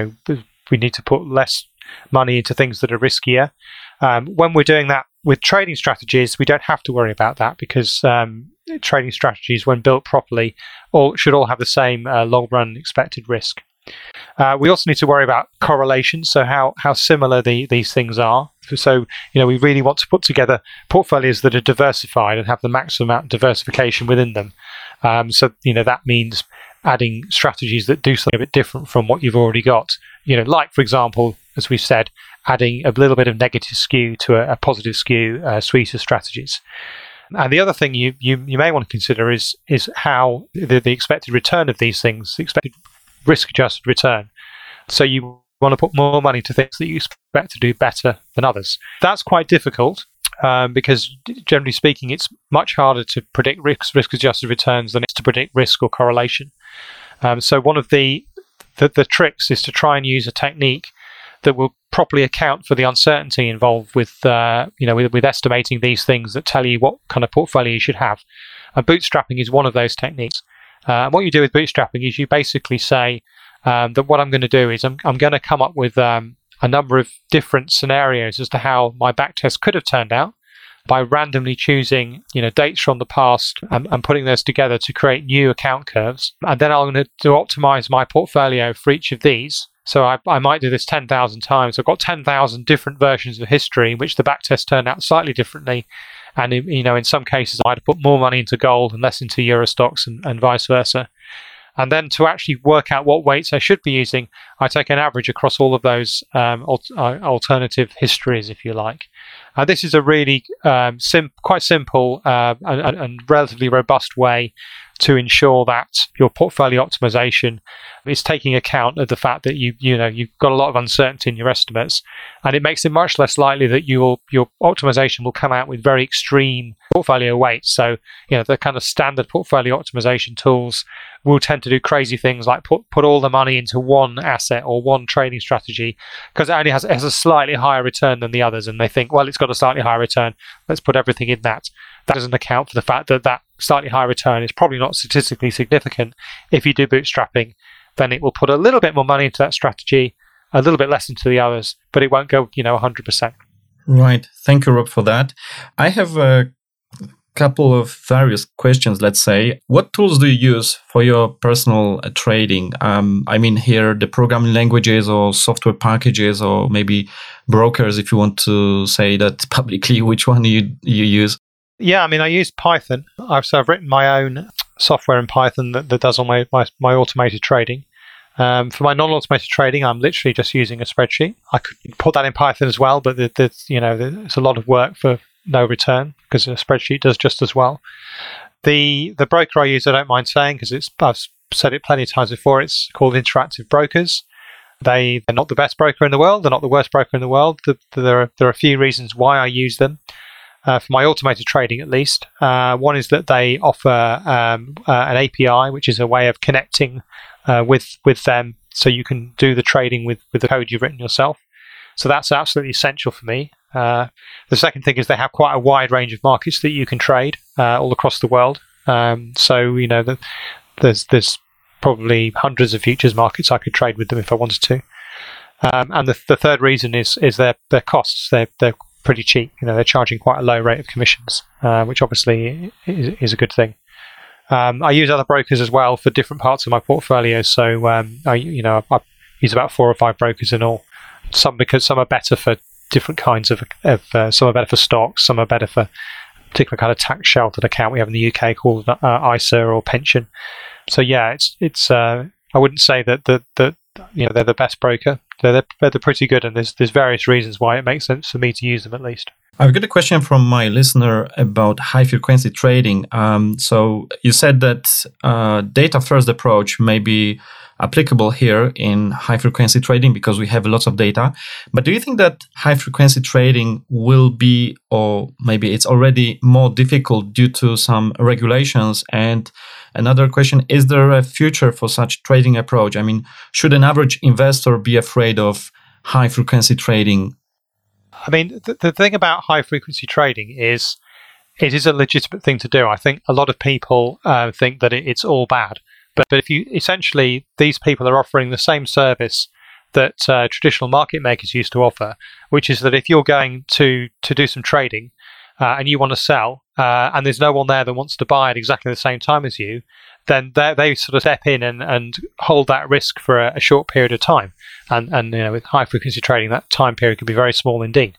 we need to put less money into things that are riskier. When we're doing that with trading strategies, we don't have to worry about that because trading strategies, when built properly, should all have the same long-run expected risk. We also need to worry about correlation, so how similar these things are. So, we really want to put together portfolios that are diversified and have the maximum amount of diversification within them. So, that means adding strategies that do something a bit different from what you've already got. Like, for example, as we've said, adding a little bit of negative skew to a positive skew suite of strategies. And the other thing you may want to consider is how the expected return of these things, the expected risk-adjusted return. So you want to put more money to things that you expect to do better than others. That's quite difficult because, generally speaking, it's much harder to predict risk-adjusted returns than it's to predict risk or correlation. So one of the tricks is to try and use a technique that will properly account for the uncertainty involved with estimating these things that tell you what kind of portfolio you should have. And bootstrapping is one of those techniques. And what you do with bootstrapping is you basically say that what I'm going to do is I'm going to come up with a number of different scenarios as to how my backtest could have turned out by randomly choosing dates from the past and putting those together to create new account curves. And then I'm going to optimize my portfolio for each of these. So I might do this 10,000 times. I've got 10,000 different versions of history in which the backtest turned out slightly differently. And in some cases, I might have put more money into gold and less into Euro Stoxx and vice versa. And then to actually work out what weights I should be using, I take an average across all of those alternative histories, if you like. This is a really quite simple and relatively robust way to ensure that your portfolio optimization is taking account of the fact that you've got a lot of uncertainty in your estimates, and it makes it much less likely that your optimization will come out with very extreme portfolio weights. So the kind of standard portfolio optimization tools will tend to do crazy things like put all the money into one asset or one trading strategy because it only has a slightly higher return than the others, and they think, well, it's got a slightly higher return, let's put everything in that. That doesn't account for the fact that slightly higher return is probably not statistically significant. If you do bootstrapping, then it will put a little bit more money into that strategy, a little bit less into the others, but it won't go 100%. Right. Thank you, Rob, for that. I have a couple of various questions, let's say. What tools do you use for your personal trading? I mean here, the programming languages or software packages or maybe brokers, if you want to say that publicly, which one you use? Yeah, I mean, I use Python. I've written my own software in Python that does all my automated trading. For my non-automated trading, I'm literally just using a spreadsheet. I could put that in Python as well, but there's a lot of work for no return because a spreadsheet does just as well. The broker I use, I don't mind saying because I've said it plenty of times before. It's called Interactive Brokers. They're not the best broker in the world. They're not the worst broker in the world. There are a few reasons why I use them. For my automated trading, at least. One is that they offer an API, which is a way of connecting with them so you can do the trading with the code you've written yourself. So that's absolutely essential for me. The second thing is they have quite a wide range of markets that you can trade all across the world. So there's probably hundreds of futures markets I could trade with them if I wanted to. And the third reason is their costs. They're pretty cheap. They're charging quite a low rate of commissions, which obviously is a good thing. I use other brokers as well for different parts of my portfolio. So I use about 4 or 5 brokers in all. Because some are better for different kinds of some are better for stocks, some are better for a particular kind of tax sheltered account we have in the UK called ISA or pension. So yeah, it's I wouldn't say that they're the best broker. They're pretty good, and there's various reasons why it makes sense for me to use them at least. I've got a question from my listener about high frequency trading. So you said that data first approach may be applicable here in high frequency trading because we have lots of data. But do you think that high frequency trading will be, or maybe it's already more difficult due to some regulations? And another question, is there a future for such trading approach? I mean, should an average investor be afraid of high frequency trading? I mean, the thing about high frequency trading is it is a legitimate thing to do. I think a lot of people think that it's all bad. But if you essentially, these people are offering the same service that traditional market makers used to offer, which is that if you're going to do some trading and you want to sell and there's no one there that wants to buy at exactly the same time as you, then they sort of step in and hold that risk for a short period of time. And with high frequency trading, that time period can be very small indeed.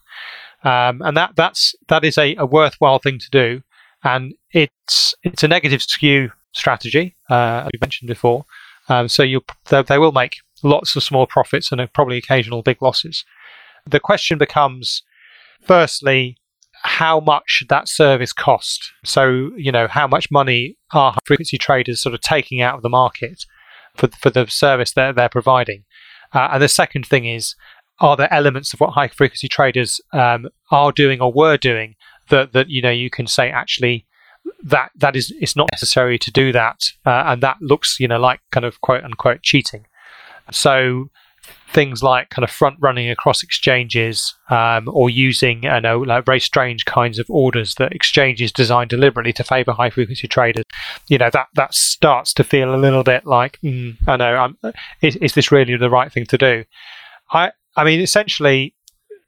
And that is a worthwhile thing to do. And it's a negative skew strategy, as we mentioned before. So they will make lots of small profits and probably occasional big losses. The question becomes, firstly, how much should that service cost? So, how much money are high frequency traders sort of taking out of the market for the service that they're providing? And the second thing is, are there elements of what high frequency traders are doing or were doing that you can say actually that is, it's not necessary to do that, and that looks like kind of quote unquote cheating. So things like kind of front running across exchanges, or using like very strange kinds of orders that exchanges design deliberately to favor high frequency traders. That starts to feel a little bit like I know, is this really the right thing to do? I mean, essentially,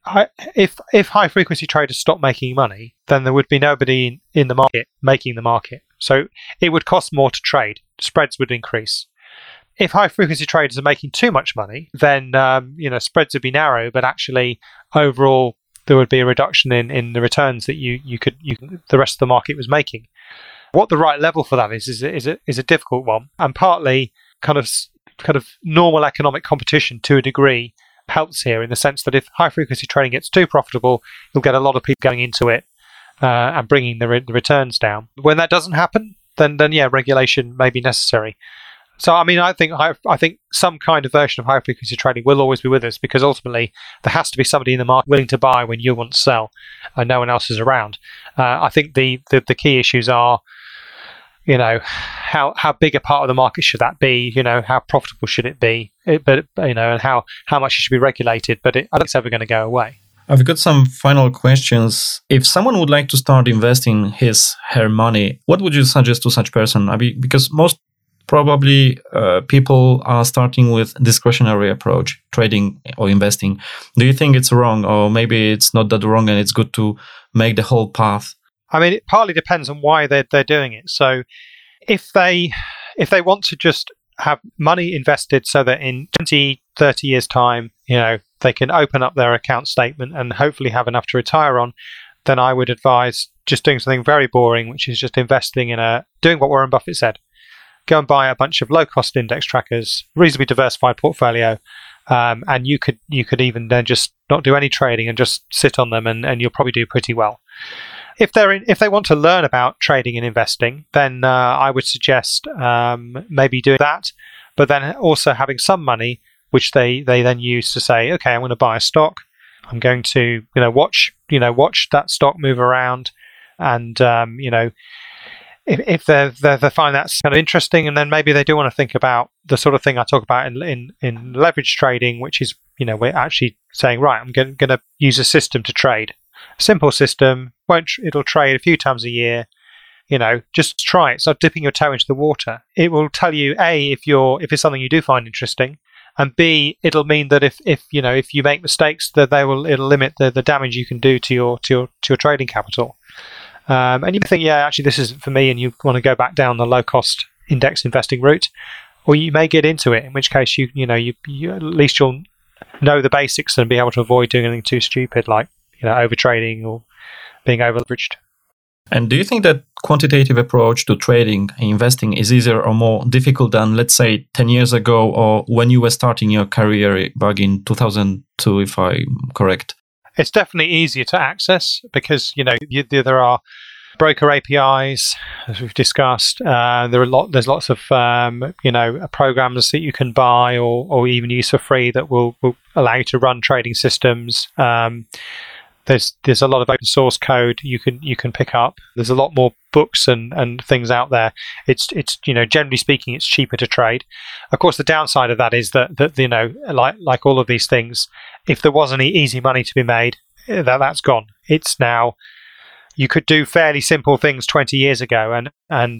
if high frequency traders stopped making money, then there would be nobody in the market making the market. So it would cost more to trade. Spreads would increase. If high frequency traders are making too much money, then spreads would be narrow, but actually overall there would be a reduction in the returns that the rest of the market was making. What the right level for that is a difficult one, and partly kind of normal economic competition to a degree helps here, in the sense that if high frequency trading gets too profitable, you'll get a lot of people going into it and bringing the returns down. When that doesn't happen, then yeah, regulation may be necessary. So I mean, I think some kind of version of high frequency trading will always be with us, because ultimately there has to be somebody in the market willing to buy when you want to sell and no one else is around. I think the key issues are, how big a part of the market should that be? How profitable should it be? And how much it should be regulated. But I don't think it's ever going to go away. I've got some final questions. If someone would like to start investing her money, what would you suggest to such person? I mean, because most probably people are starting with discretionary approach, trading or investing. Do you think it's wrong, or maybe it's not that wrong and it's good to make the whole path? I mean, it partly depends on why they're doing it. So if they want to just have money invested so that in 20, 30 years' time, they can open up their account statement and hopefully have enough to retire on, then I would advise just doing something very boring, which is just investing doing what Warren Buffett said. Go and buy a bunch of low-cost index trackers, reasonably diversified portfolio, and you could even then just not do any trading and just sit on them, and you'll probably do pretty well. If they want to learn about trading and investing, then I would suggest maybe doing that, but then also having some money which they then use to say, okay, I'm going to buy a stock. I'm going to watch that stock move around, and if they find that kind of interesting, and then maybe they do want to think about the sort of thing I talk about in leverage trading, which is we're actually saying, right, I'm going to use a system to trade. Simple system, it'll trade a few times a year. just try it. Start dipping your toe into the water. It will tell you A, if it's something you do find interesting, and B, it'll mean that if you make mistakes, that it'll limit the damage you can do to your trading capital. And you think, yeah, actually this isn't for me, and you want to go back down the low cost index investing route, or you may get into it, in which case you at least you'll know the basics and be able to avoid doing anything too stupid like over trading or being over leveraged. And do you think that quantitative approach to trading and investing is easier or more difficult than, let's say, 10 years ago, or when you were starting your career back in 2002, if I'm correct? It's definitely easier to access because, there are broker APIs, as we've discussed. There's lots of, programs that you can buy or even use for free that will allow you to run trading systems. There's a lot of open source code you can pick up. There's a lot more books and things out there. It's generally speaking, it's cheaper to trade. Of course, the downside of that is that like all of these things, if there was any easy money to be made, that's gone. It's now, you could do fairly simple things 20 years ago and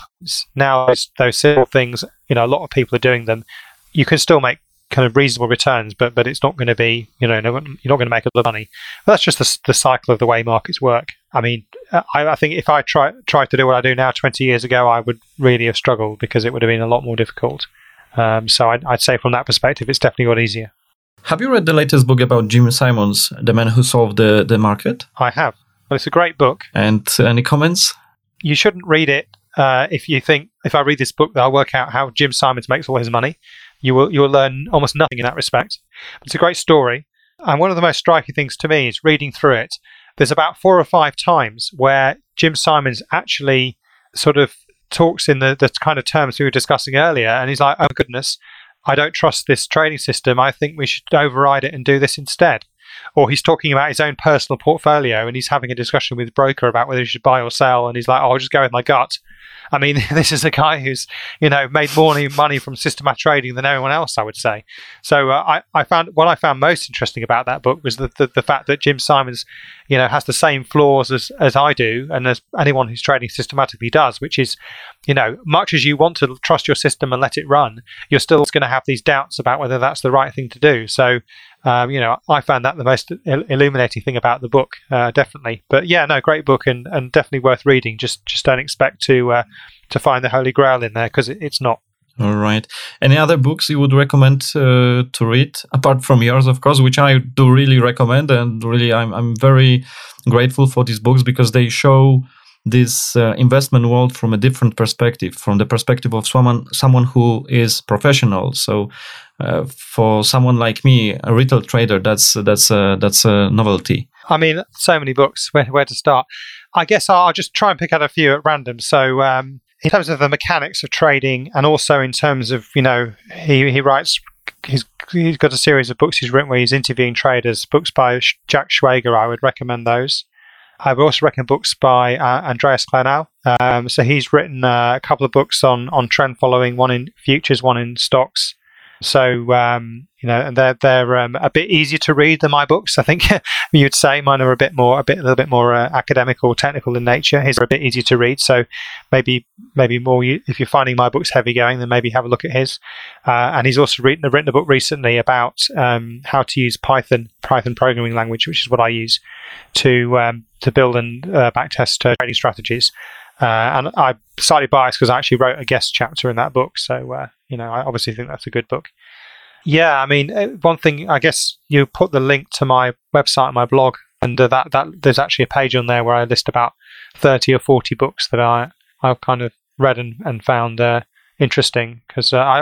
now those simple things, a lot of people are doing them. You can still make kind of reasonable returns, but it's not going to be, you're not going to make a lot of money. But that's just the cycle of the way markets work. I mean, I think if I tried to do what I do now 20 years ago, I would really have struggled because it would have been a lot more difficult. So I'd say from that perspective, it's definitely got easier. Have you read the latest book about Jim Simons, The Man Who Solved the Market? I have. Well, it's a great book. And any comments? You shouldn't read it if you think, if I read this book, that I'll work out how Jim Simons makes all his money. You will learn almost nothing in that respect. It's a great story. And one of the most striking things to me is reading through it. There's about 4 or 5 times where Jim Simons actually sort of talks in the kind of terms we were discussing earlier. And he's like, oh, goodness, I don't trust this trading system. I think we should override it and do this instead. Or he's talking about his own personal portfolio and he's having a discussion with the broker about whether he should buy or sell. And he's like, oh, I'll just go with my gut. I mean, this is a guy who's, made more money from systematic trading than anyone else, I would say. So I found what I found most interesting about that book was the fact that Jim Simons, has the same flaws as I do and as anyone who's trading systematically does, which is, much as you want to trust your system and let it run, you're still going to have these doubts about whether that's the right thing to do. So, I found that the most illuminating thing about the book, definitely. But yeah, no, great book and definitely worth reading. Just don't expect to find the Holy Grail in there because it's not. All right. Any other books you would recommend to read, apart from yours, of course, which I do really recommend, and really I'm very grateful for these books because they show this investment world from a different perspective, from the perspective of someone who is professional. So for someone like me, a retail trader, that's a novelty. I mean, so many books. Where to start? I guess I'll just try and pick out a few at random. So in terms of the mechanics of trading, and also in terms of he writes. He's got a series of books he's written where he's interviewing traders. Books by Jack Schwager, I would recommend those. I would also recommend books by Andreas Clenow. So he's written a couple of books on trend following, one in futures, one in stocks. So and they're a bit easier to read than my books. I think you'd say mine are a little bit more academic or technical in nature. His are a bit easier to read. So maybe more. If you're finding my books heavy going, then maybe have a look at his. And he's also written a book recently about how to use Python programming language, which is what I use to build and backtest trading strategies. And I'm slightly biased because I actually wrote a guest chapter in that book. So, I obviously think that's a good book. Yeah, I mean, one thing, I guess you put the link to my website and my blog, and that there's actually a page on there where I list about 30 or 40 books that I've kind of read and found interesting because I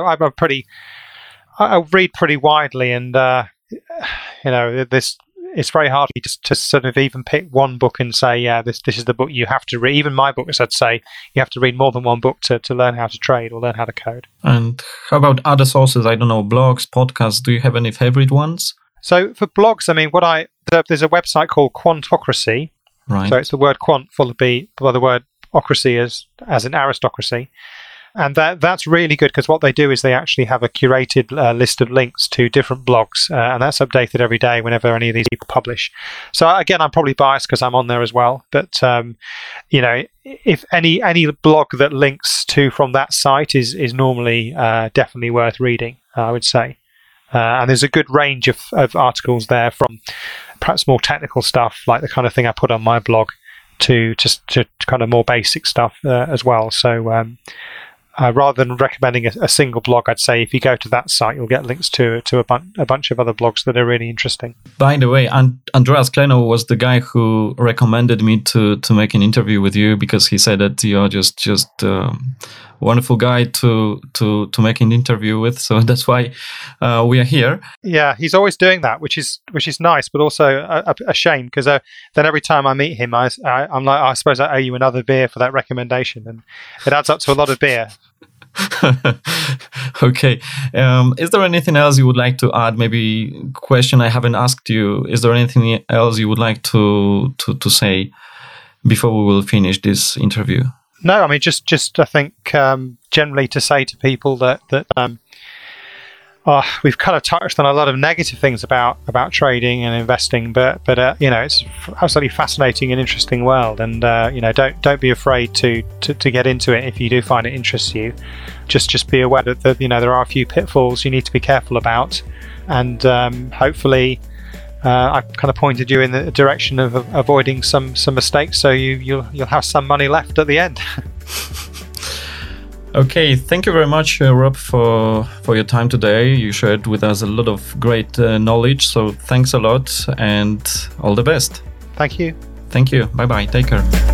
read pretty widely, and it's very hard for me to sort of even pick one book and say, yeah, this is the book you have to read. Even my books, I'd say you have to read more than one book to learn how to trade or learn how to code. And how about other sources? I don't know, blogs, podcasts. Do you have any favorite ones? So for blogs, I mean, there's a website called Quantocracy. Right. So it's the word quant followed by the word ocracy as in aristocracy. And that's really good because what they do is they actually have a curated list of links to different blogs, and that's updated every day whenever any of these people publish. So again, I'm probably biased because I'm on there as well. But if any blog that links to from that site is normally definitely worth reading, I would say. And there's a good range of articles there, from perhaps more technical stuff like the kind of thing I put on my blog to kind of more basic stuff as well. So rather than recommending a single blog, I'd say if you go to that site, you'll get links to a bunch of other blogs that are really interesting. By the way, Andreas Kleiner was the guy who recommended me to make an interview with you, because he said that you're just wonderful guy to make an interview with. So that's why we are here. Yeah, he's always doing that, which is nice, but also a shame, because then every time I meet him, I'm like, I suppose I owe you another beer for that recommendation, and it adds up to a lot of beer. Okay. Is there anything else you would like to add? Maybe a question I haven't asked you. Is there anything else you would like to say before we will finish this interview? No, I mean, just I think generally to say to people that we've kind of touched on a lot of negative things about trading and investing, but it's absolutely fascinating and interesting world, and don't be afraid to get into it if you do find it interests you. Just be aware that there are a few pitfalls you need to be careful about, and hopefully I kind of pointed you in the direction of avoiding some mistakes, so you'll have some money left at the end. Okay, thank you very much, Rob, for your time today. You shared with us a lot of great knowledge, so thanks a lot and all the best. Thank you. Thank you. Bye-bye. Take care.